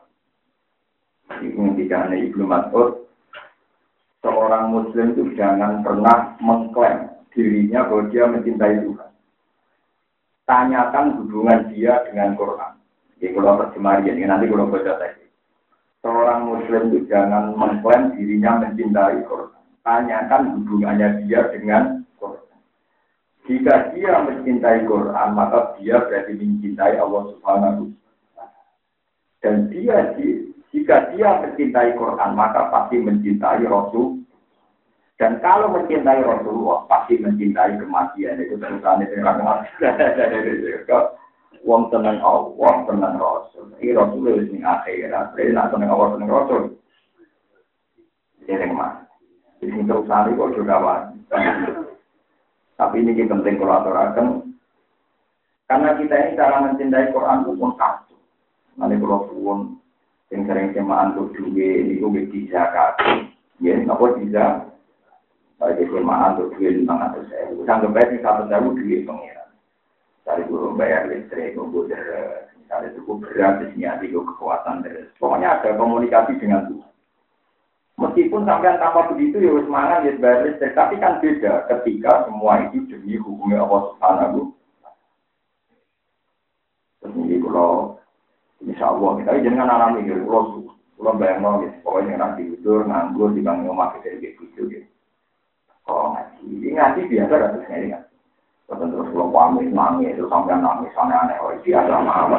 Ini tidak hanya Ibnu Mas'ud, seorang Muslim itu jangan pernah mengklaim dirinya bahwa dia mencintai Tuhan. Tanyakan hubungan dia dengan Quran. Jadi kalau terjemahkan ini nanti kalau baca teks. Seorang Muslim itu jangan mengklaim dirinya mencintai Quran. Tanyakan hubungannya dia dengan Quran. Jika dia mencintai Quran, maka dia berarti mencintai Allah Subhanahu wa taala. Dan dia jika dia mencintai Quran, maka pasti mencintai Rasul. Dan kalau mencintai Rasulullah, pasti mencintai kematian. Itu terusannya dengan wong tenang Allah, tenang Rasul. Ini Rasul itu yang akhirat. Jadi nak tenang Allah, tenang Rasul. Jadi mana? Ini terusannya kok juga wajib. Tapi ini penting kalau aturakan. Karena kita ini cara mencintai Quran itu pun satu. Nanti kalau pun yang sering semaan untuk juga ini gue bisa kasih. Ya, apa bisa? Kalau semaan untuk juga lima ratus ribu. Sampai baik satu ribu duit pengiran. Dari guru bayar listrik, guru deres. Misalnya cukup berat, disini ada kekuatan deres. Pokoknya ada komunikasi dengan Tuhan. Meskipun sampai tanpa begitu ya semangat ya bayar listrik, tapi kan beda ketika semua itu demi hukumnya Allah Subhanahu. Terus ini kalau insya Allah kita jangan alami gitu, kalau kalau bayang mau gitu, pokoknya nanti tidur nganggur di bangun rumah kita gitu gitu. Oh ngaji, ini ngaji biasa kan terus ngaji kan. Terus terus kalau pamit nangis, terus sampai nangis aneh-aneh, oh biasa mah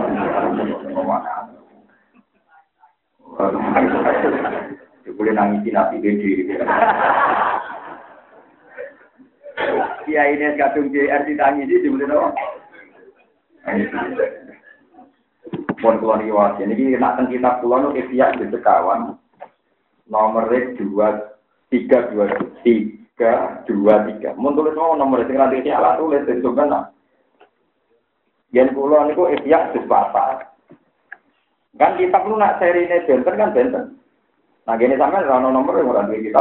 boleh nangisi nabi gede. Iya ini kadung di R T tangisi dibeli apa? Pon keluar riwayat. Ini nak teng kitab kula nu Ihya di sekawan nomor dua tiga dua tiga dua tiga. Mun tulis mau nomor sing ra dadi ala tulis itu kan. Yen kula niku Ihya di papat. Kan kitab lu nak serine benten kan benten. Nah, gini sampai ada nomor yang orang duit kita.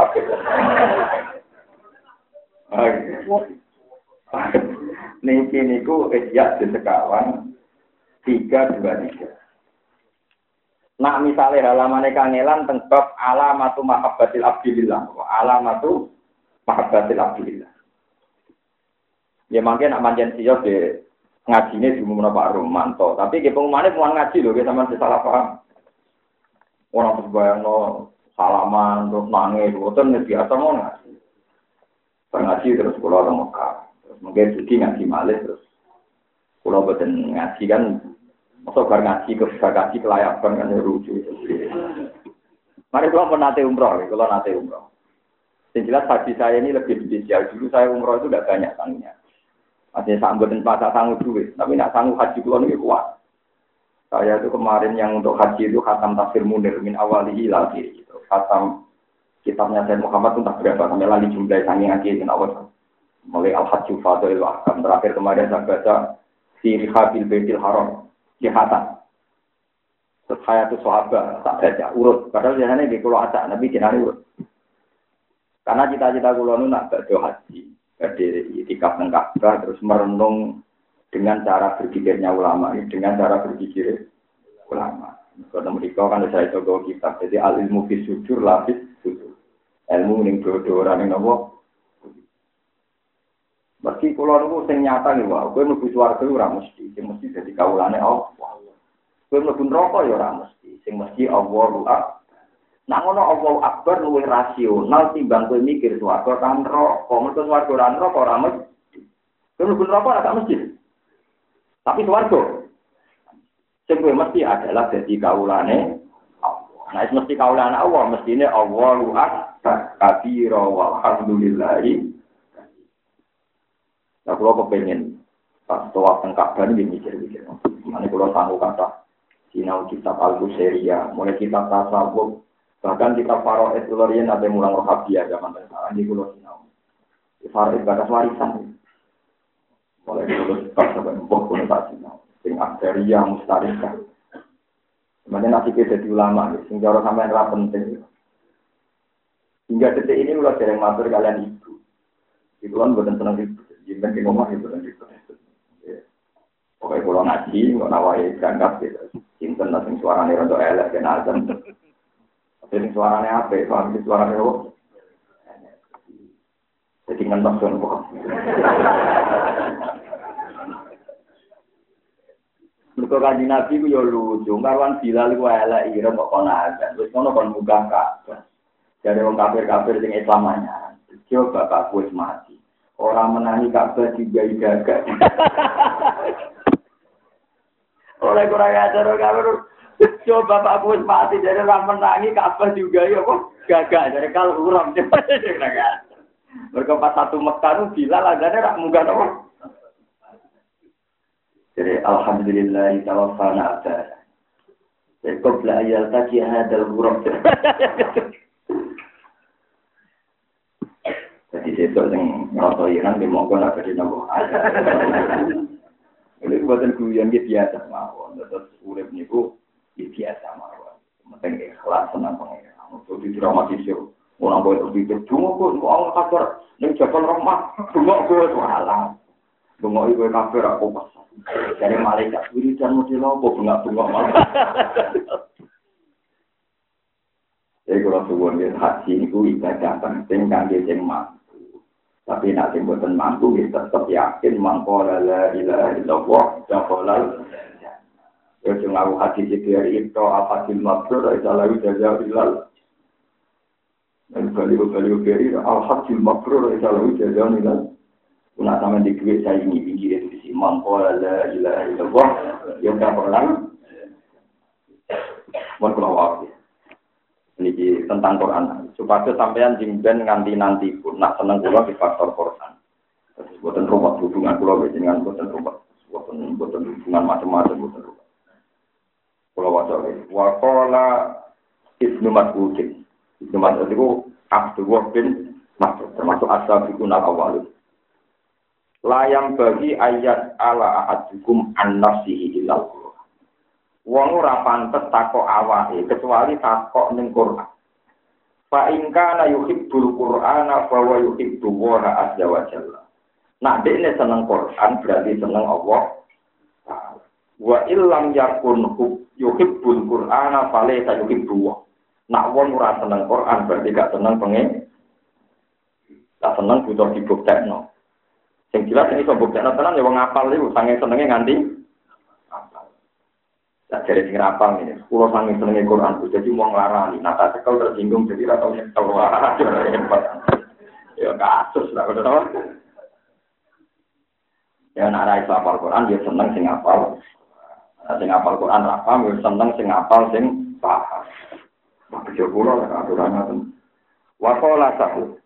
Niki niku Ihya di sekawan tiga dua tiga. Nah, misalnya halamannya kangelan tentang alamatu mahabbatil abdillah. Alamatu mahabbatil abdillah. Ya mungkin nak manjen siap di ngajinya di umum Pak Romanto. Tapi ke pengumumannya pengumuman ngaji loh, kita sama salah paham. Orang terbayang no salaman, terus nangis, itu biasa mau ngaji. Ngaji terus pulau orang Mekah. Terus mungkin juga ngaji malih terus. Pulau betul ngaji kan, masuk bar ngaji ke ngaji kelayakan kan lucu. Mari kalau pernah nate umroh, kalau nate umroh. Yang jelas haji saya ini lebih spesial. Dulu saya umroh itu tidak banyak tangnya. Masih sanggup dan masa sanggup duit, tapi tidak sanggup haji pulau ini kuat. Saya itu kemarin yang untuk haji itu khatam tafsir Munir min awalihi ila akhirih. Khatam kitabnya Sayyid Muhammad itu tak berapa sampai lagi jumlah sangi ngaji dan awal mulai al-hajju fadhil ahkam terakhir kemarin saya baca sirih habil baitil haram di khatam terus hayatus sahabat tak baca urut padahal biasanya di kulo acak nabi jenari urut karena cita-cita kulo nu nak berdoa haji di itikaf nang Ka'bah terus merenung dengan cara berpikirnya ulama ini dengan cara berpikir ulama. Kalau mereka kan saya coba kitab, jadi al ilmu fi sujur lapis sujur. Ilmu ning dodo ora ning napa. Meski kula niku sing nyata nggih wae, kowe mlebu swarga ora mesti, sing mesti dadi kawulane Allah. Kowe mlebu neraka ya ora mesti, sing mesti Allahu Akbar. Nah ngono Allahu Akbar luwih rasional timbang kowe mikir swarga kan neraka. Mergo swarga ora neraka ora mesti. Kowe mlebu neraka ora mesti. Tapi swarga sing mesti adalah dadi kawulane Allah. Nah, mesti kawulane Allah, mestine Allahu Akbar, kabira walhamdulillahi. Nah, kalau kepengen pas tawaf teng Ka'bah ini mikir-mikir. Mane kula sanggup kata sinau kitab Al-Busairiyah, mulai kitab tasawuf, bahkan kitab Faraid Lorian ada mulang Rohabiyah zaman sekarang ini kula sinau. Faraid batas warisan. Mulai dulu pas sampai mbok kula tak sinau. Sing aksaria mustarika. Sebenarnya nanti kita jadi ulama, sing cara sampean ra penting. Hingga detik ini ulah dereng matur kalian ibu. Ibu kan boten seneng ibu. Jimben di rumah itu dan itu. Pokoknya kalau ngaji, nggak nawai berangkat gitu. Cinten lah sing suarane rada elek ben azan. Tapi sing suarane apik, paham sing suarane apa? Jadi ngentos kan kok. Mergo kanjeng Nabi ku yo lucu, marwan Bilal ku elek ira kok kono azan. Wis ngono kon mugang kabeh. Jare wong kafir-kafir sing Islam anyar. Coba bapakku wis mati. Orang menangi Ka'bah juga gagak. Oleh kurang ajar kafir. Coba bapakku wis mati jare orang menangi Ka'bah juga ya kok gagak. Jare kal urang coba gagak. Mergo pas satu Mekah Bilal azane rak munggah apa? Jadi alhamdulillah tawaffana abda. Jadi qabla ayal taqi hadal ghurab. Jadi sesuatu yang rasa Iran di mongko nak jadi nopo. Ini buatan guyon gitu biasa mawon. Terus urip niku biasa mawon. Penting ikhlas senang pengen. Untuk didramatisir. Orang boleh berpikir, cuma kok orang kafir ning jabal rahmah, cuma kok salah. Cuma iku kafir aku pas. Dari malaikat wiridan model apa bengak-bengok malah. Jadi kalau suwun ya haji niku ibadah penting kangge sing mampu. Tapi nek sing boten mampu ya tetep yakin mangko la ilaha illallah jaqalal. Ya sing aku haji iki itu apa sing mabrur isa lawi jazailal. Dan baliu-baliu beri al-hajjul mabrur isa lawi jazailal. Una sama di duit saya ini pinggir itu di mangko la ilaha illallah yang tak pernah. Mun kula wae. Niki tentang Quran. Supaya sampean jingben nganti nanti pun nak seneng kula di faktor Quran. Terus boten rumah hubungan kula dengan boten rumah, boten boten hubungan macam-macam boten rumah. Kula waca wa qala Ibnu Mas'ud. Ibnu Mas'ud itu Abdullah bin Mas'ud termasuk as-sabiqun al-awwalun. Layang bagi ayat ala ahadukum an-nafsihi ilal Qur'an. Wong ora pantes takok awake kecuali takok ning Qur'an. Fa in kana yuhibbul Qur'ana fa wa yuhibbu wa azza wa jalla. Nak dekne seneng Qur'an berarti seneng Allah. Wa illam yakun yuhibbul Qur'ana fa la yuhibbu wa. Nak wong ora seneng Qur'an berarti gak seneng pengen. Tak seneng butuh dibuktekno. Yang jelas ini pembuktian tenan ya wong ngapal niku sange senenge nganti apal. Tak jare sing ngapal ini, kula sange senenge Quran ku dadi wong larani, nah tak cekel tersinggung jadi ra tau nyekel wae. Ya kasus lah ngono. Ya nek ra iso apal Quran ya seneng sing apal. Sing apal Quran ra paham ya seneng sing apal sing paham. Makya kula aturan ngoten. Wa qala sahu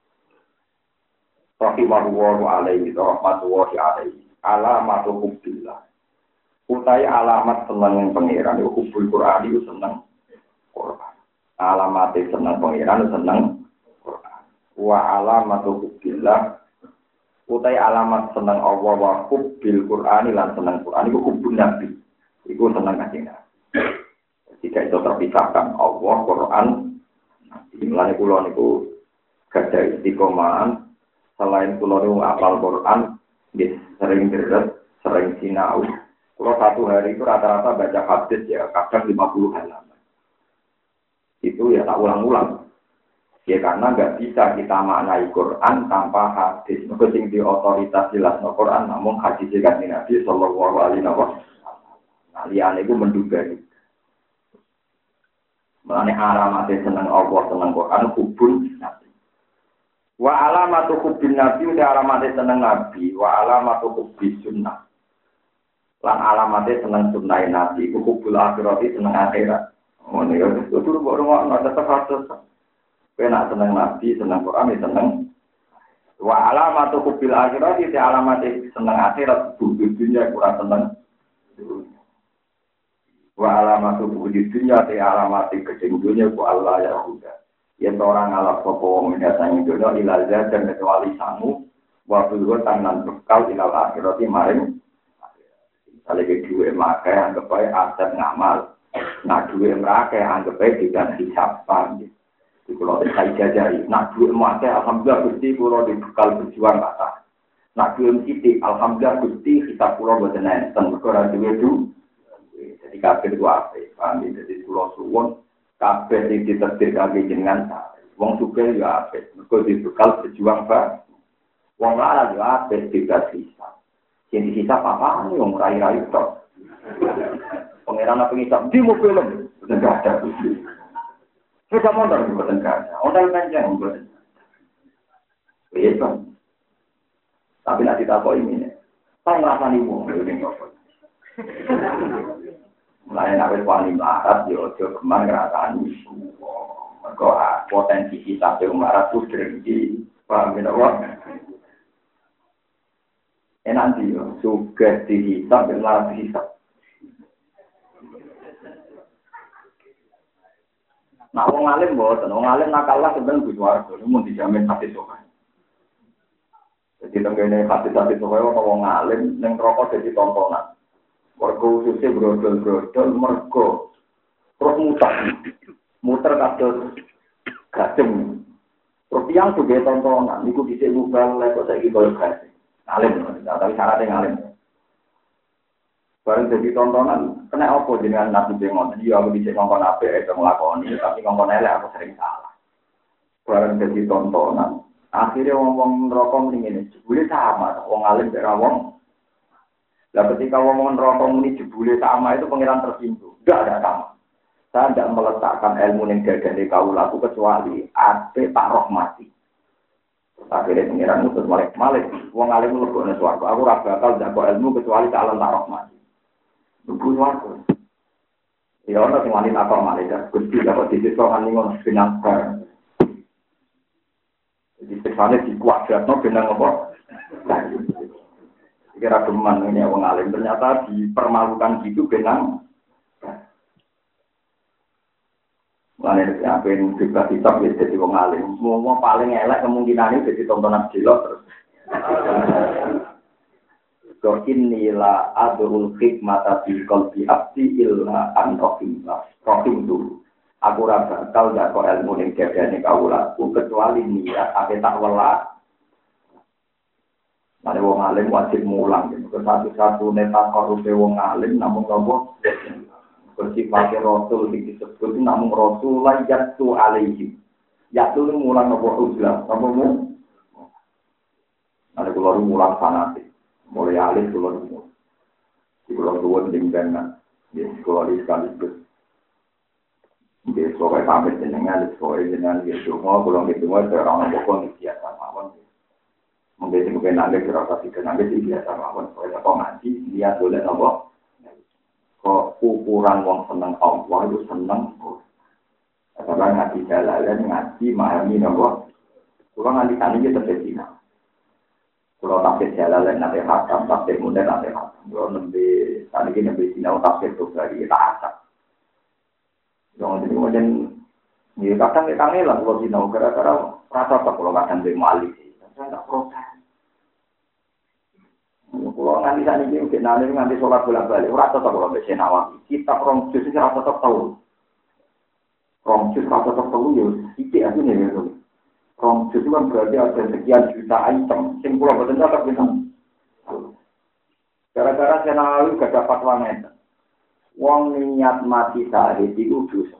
rahimahullahu alaihi rahmatullahi alaihi alamatu hubbillah utai alamat seneng pangeran iku hubbul Qur'an iku seneng Qur'an alamat seneng pangeran seneng Qur'an wa alamatu hubbillah utai alamat seneng Allah wa hubbil Qur'an lan seneng Qur'an iku hubbun nabi iku seneng kanjeng tidak itu terpisahkan Allah Qur'an lan kula niku gadah istiqomahan. Selain kula nu apal Quran, nggih sering deres, sering sinau. Kula satu hari itu rata-rata baca hadis ya, kadang lima puluh halaman. Itu ya tak ulang-ulang. Ya karena enggak bisa kita maknai Quran tanpa hadis. Mergo sing di otoritas jelasno Quran namun hadis kanjeng Nabi sallallahu alaihi wasallam. Nah, liyane iku menduga. Mulane alamate seneng Allah, seneng Quran hubun nabi. Wa alamatu hubbin nabi udah alamate seneng nabi, wa alamatu hubbis sunnah. Lan alamate seneng sunnah nabi, iku hubbul akhirati seneng akhirat. Ngono ya, kudu mbok rungokno tetep harus. Penak seneng nabi, seneng Quran, seneng. Wa alamatu hubbil akhirati te alamate seneng akhirat, hubbil dunya kurang seneng. Wa alamatu hubbil dunya te alamate kecing dunya ku Allah ya huda. Yang orang ngalap sopo mendatangi dunia ilal dan kecuali sangu waktu itu tangan bekal ilal akhirati maring misalnya ke dua makai anggap baik aset ngamal nah dua makai anggap baik tidak hisapan di pulau saya jajari nah dua makai alhamdulillah gusti pulau di bekal berjuang kata Nak belum sidik, alhamdulillah Gusti kita pulau buat nenten berkoran duwe du. Jadi kabeh itu apa? Paham jadi pulau suwon kabeh sing ditetir kabeh jenengan. Wong sugih ya apa? Mergo dibekal berjuang ba. Wong lara ya apa tidak sisa. Sing disisa apa wong rai-rai tok. Pangeran apa ngisap di mobil enggak ada. Sudah mondar di negara. Ondal panjang buat. Iya. Tapi nanti tak kau ini, saya ngerasa nih mau ngeliling apa? Mulai nabi wali melarat, yo jo kemana ngerasa nih? Mereka potensi kita yang melarat tuh terjadi, paham tidak wah? Eh nanti yo, suka dihisap, melarat dihisap. Nah, wong alim boten, wong alim nakalah sebenarnya butuh warga, ini mau dijamin hati sokan. Jadi tenggene hati-hati sokan wong alim, neng rokok jadi tontonan. Warga khususnya brodol-brodol, mergo, terus muter, muter kados gajeng. Terus yang juga tontonan, niku disik mubal, kok saya gitu gajeng. Alim, tapi syaratnya ngalim. Barang jadi tontonan, kena apa dengan nabi bengon? Iya, aku bisa ngomong apa itu ngelakoni, tapi ngomong elek aku sering salah. Barang jadi tontonan, akhirnya ngomong rokok ini jebule sama, wong alim dari wong. Lah ketika ngomong rokok ini jebule sama itu pengiran tersinggung. Enggak ada sama. Saya tidak meletakkan ilmu yang gagah kaula aku kecuali ape tak rahmati. Akhirnya pengiran itu malik malik, wong alim mlebokne swarga. Aku ora bakal ndak ilmu kecuali calon tak rahmati. Bukan waktu. Ya orang yang wanita kau malah Gusti dapat disiksa kan ngono benang bar. Jadi sekali dikuadratno benang apa? Kira geman ini wong alim ternyata dipermalukan gitu benang. Lain yang juga hitam jadi wong alim. Semua paling elek kemungkinan itu jadi tontonan jelok terus. Ko inilah adul hikmata fi qalbi abdi illa an rahimah. Rahim dulu. Aku ora bakal ndak kok ilmu ning dadane kawula kecuali niat ate tak welas. Mane wong alim wajib mulang gitu. Satu-satu neta korupe wong alim namung nopo? Bersifat rasul disebut namung rasul yatu alaihi. Yatu mulang nopo uzlah. Nopo mu? Mane kula mulang fanatik. Mulai alih keluar semua. Di pulau tua dengan di sekolah di sekaligus. Di sekolah sampai dengan di sekolah dengan di semua pulau di semua orang pokok di biasa mawon. Mungkin mungkin ada kerasa sih kenapa di biasa mawon. Kalau apa ngaji dia boleh nopo. Kok ukuran wong seneng Allah itu seneng. Karena ngaji jalan ngaji memahami nopo. Kalau ngaji kali kita terjadi. Kalau tafsir jalan nanti hakam, tafsir muda nanti hakam. Kalau nanti tadi kita nanti sinau tafsir itu dari kita asap. Jangan jadi macam ni kadang kita ni lah kalau sinau gara-gara rasa tak kalau kadang dia malik. Saya tak protes. Kalau nanti saat ini mungkin nanti nanti sholat bolak balik. Rasa tak kalau besi nawati. Kita orang justru rasa tak tahu. Orang justru rasa tak tahu ya. Iki aku ni ya. Rom itu kan berarti ada sekian juta item. Sing pulau betul tak bilang. Gara-gara saya lalu gak dapat wanita. Wong niat mati syahid itu dosa.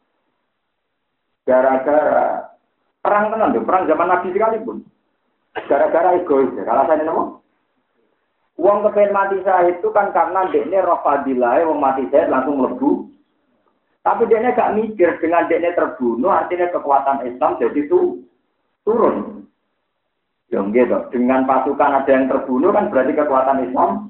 Gara-gara perang tenan tuh, perang zaman Nabi sekalipun. Gara-gara egois. Kalau saya nemu, wong kepen mati syahid itu kan karena dekne roh fadilah, wong mati syahid langsung lebu. Tapi dekne gak mikir dengan dekne terbunuh, artinya kekuatan Islam jadi itu turun. Ya gitu. Dengan pasukan ada yang terbunuh kan berarti kekuatan Islam.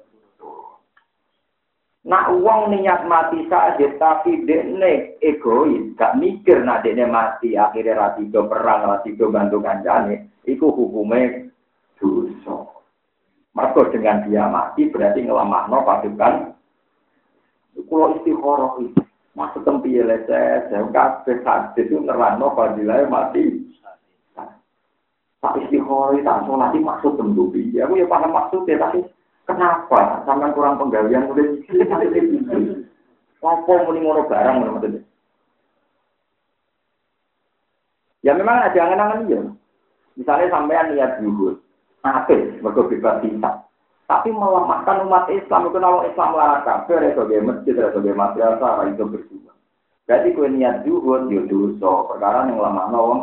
Nak uang niat mati saja tapi dekne egois, gak mikir nak dekne mati akhirnya ratido perang, ratido bantu kancane, itu hukumnya dosa. Maka dengan dia mati berarti ngelamahno pasukan. Kalau istikharah itu maksud tempi leses, saya kabeh hadis itu nerangno fadilah mati. Tak istiqomah, tak sholat, maksud tentu. Ya, aku ya paham maksudnya, tapi kenapa? Sampai kurang penggalian, udah sikit, tapi itu. Apa muni ngono barang, menurut ya memang ada angan-angan ya. Misalnya sampean niat zuhud, apik mergo bebas hisab. Tapi melemahkan umat Islam itu kalau Islam larang kabeh sebagai masjid sebagai madrasah itu berjuang. Berarti kowe niat zuhud yo dosa, perkara yang lemahno wong.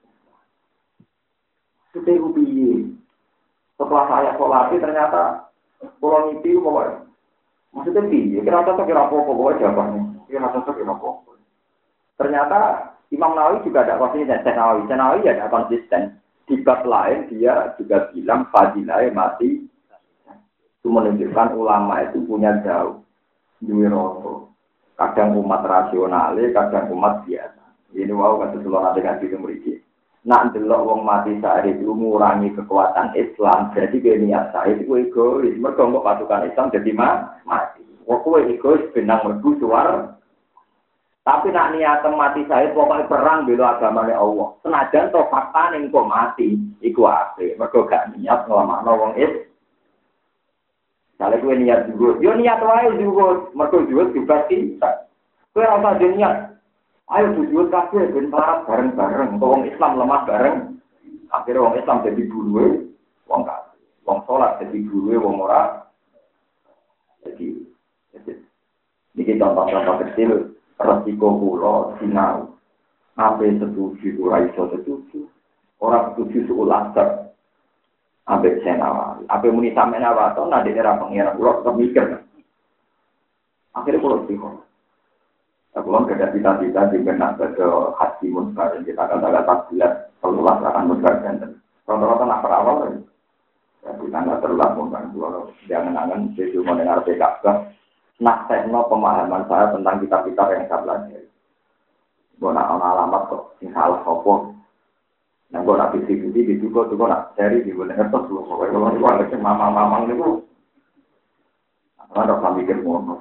Sudah ubi. Setelah saya sholat ternyata pulang itu bawa. Maksudnya piye? Kira cocok kira apa-apa bawa jawabannya. Kira cocok kira apa-apa. Ternyata Imam Nawawi juga ada konsisten. Nawawi, Nawawi ya ada konsisten. Di bab lain dia juga bilang fadilah mati. Itu menunjukkan ulama itu punya jauh. Duwe rasa. Kadang umat rasional, kadang umat biasa. Ini wow kata seluruh nanti ngaji ke mriki. Nak ndelok wong mati syahid itu mengurangi kekuatan Islam. Jadi dia niat syahid itu egois. Mergo kok pasukan Islam jadi mati. Kok kowe egois benang mergu suar. Tapi nak niat mati syahid pokoknya perang bela agamane Allah. Senajan to fakta ning kok mati iku apik. Mergo gak niat nglamakno wong Islam. Kalau kowe niat zuhud, yo niat wae zuhud, mergo zuhud juga bisa. Kowe ora usah niat. Ayo zuhud kabeh ben parah bareng-bareng, wong Islam lemah bareng. Akhire wong Islam dadi buruhe wong kafir. Wong salat dadi buruhe wong ora. Jadi iki contoh-contoh kecil resiko kula sinau. Ape setuju ora iso setuju. Ora setuju sekolah ambek Nawawi. Apa muni sampe Nawawi to nade era pengira kula tetep mikir. Akhire kula bingung. Aku lan kada cita-cita di benak ke hati muncar kita kata-kata takbilat Allah akan mengarahkan. Rata-rata nak perawal kan. Ya kita enggak terlalu mungkin kalau jangan angan saya cuma dengar P K K. Nak tekno pemahaman saya tentang kitab-kitab yang saya pelajari. Gua nak alamat kok sing salah opo. Nah, gue nak bisik-bisik, bisik gue tuh gue nak cari di gue ngertos loh. Kalau gue ada ke mama-mamang itu, ada orang mikir ngono.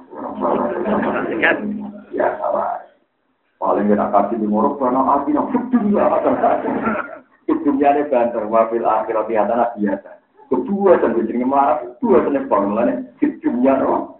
Ya salah. Paling gak kasih di ngorok karena hati nak dunia. Dunia ini banter, wafil akhirat di atas biasa. Kedua dan bicara marah, kedua dan bangunan dunia loh.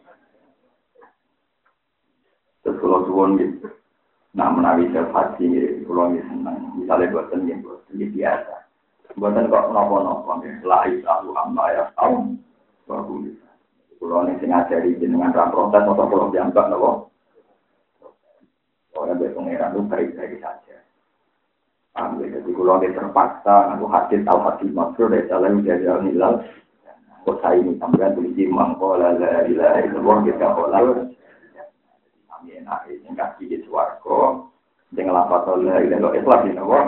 Terus kalau suwon gitu. Nah, menawi selfasi, kalau ini senang, misalnya buatan yang buatan biasa. Buatan kok nopo-nopo, lain tahu, amma ya tahu, bagus. Kalau ini ngajari dengan ram protes, atau kalau dianggap nopo. Orang berpengeran itu baik-baik saja. Ambil, jadi kalau ini terpaksa, aku hadir tahu hadir maksud, dari salah udah jalan nilai. Kok saya ini sampai tulis mangko, lala, lala, itu orang kita olah. Enak ini kasih di suarco dengan lapat oleh ilmu Islam ini awak.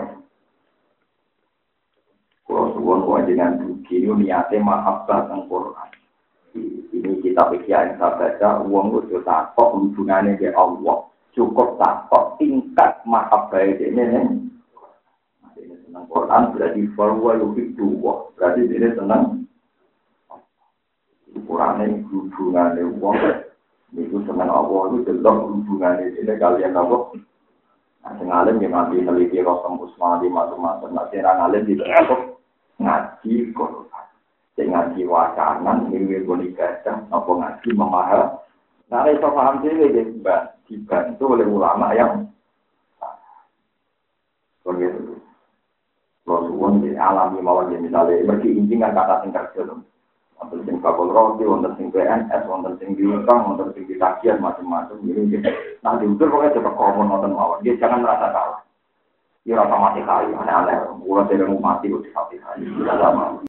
Kalau suwon wajiban begini niatnya mahabbah tentang Quran. Ini kita pikir yang saya baca uang itu takut hubungannya dengan Allah cukup takut tingkat mahabbah ini nih. Ini tentang Quran berarti bahwa lebih dua berarti ini tentang Quran hubungannya uang. Itu dengan Allah itu jelas hubungan ini kalian apa? Nah, sengalim yang nanti neliti Rasul Usman di macam-macam. Nah, serang alim di dalam ngaji Quran, ngaji wacana, minggu bonikah, apa ngaji memaham. Nah, itu paham sih, dibantu oleh ulama yang begitu. Rasulullah di alami mawar misalnya, mereka intikan kata tingkat jelas. Wonten sing bakul roti, wonten sing P N S, wonten sing diutang, wonten sing ditagihan macam-macam. Ini nah diukur pokoknya coba komon wonten mawon. Dia jangan merasa kalah. Dia rasa mati kali, aneh-aneh. Ulah tidak mau mati, udah mati kali. Tidak lama.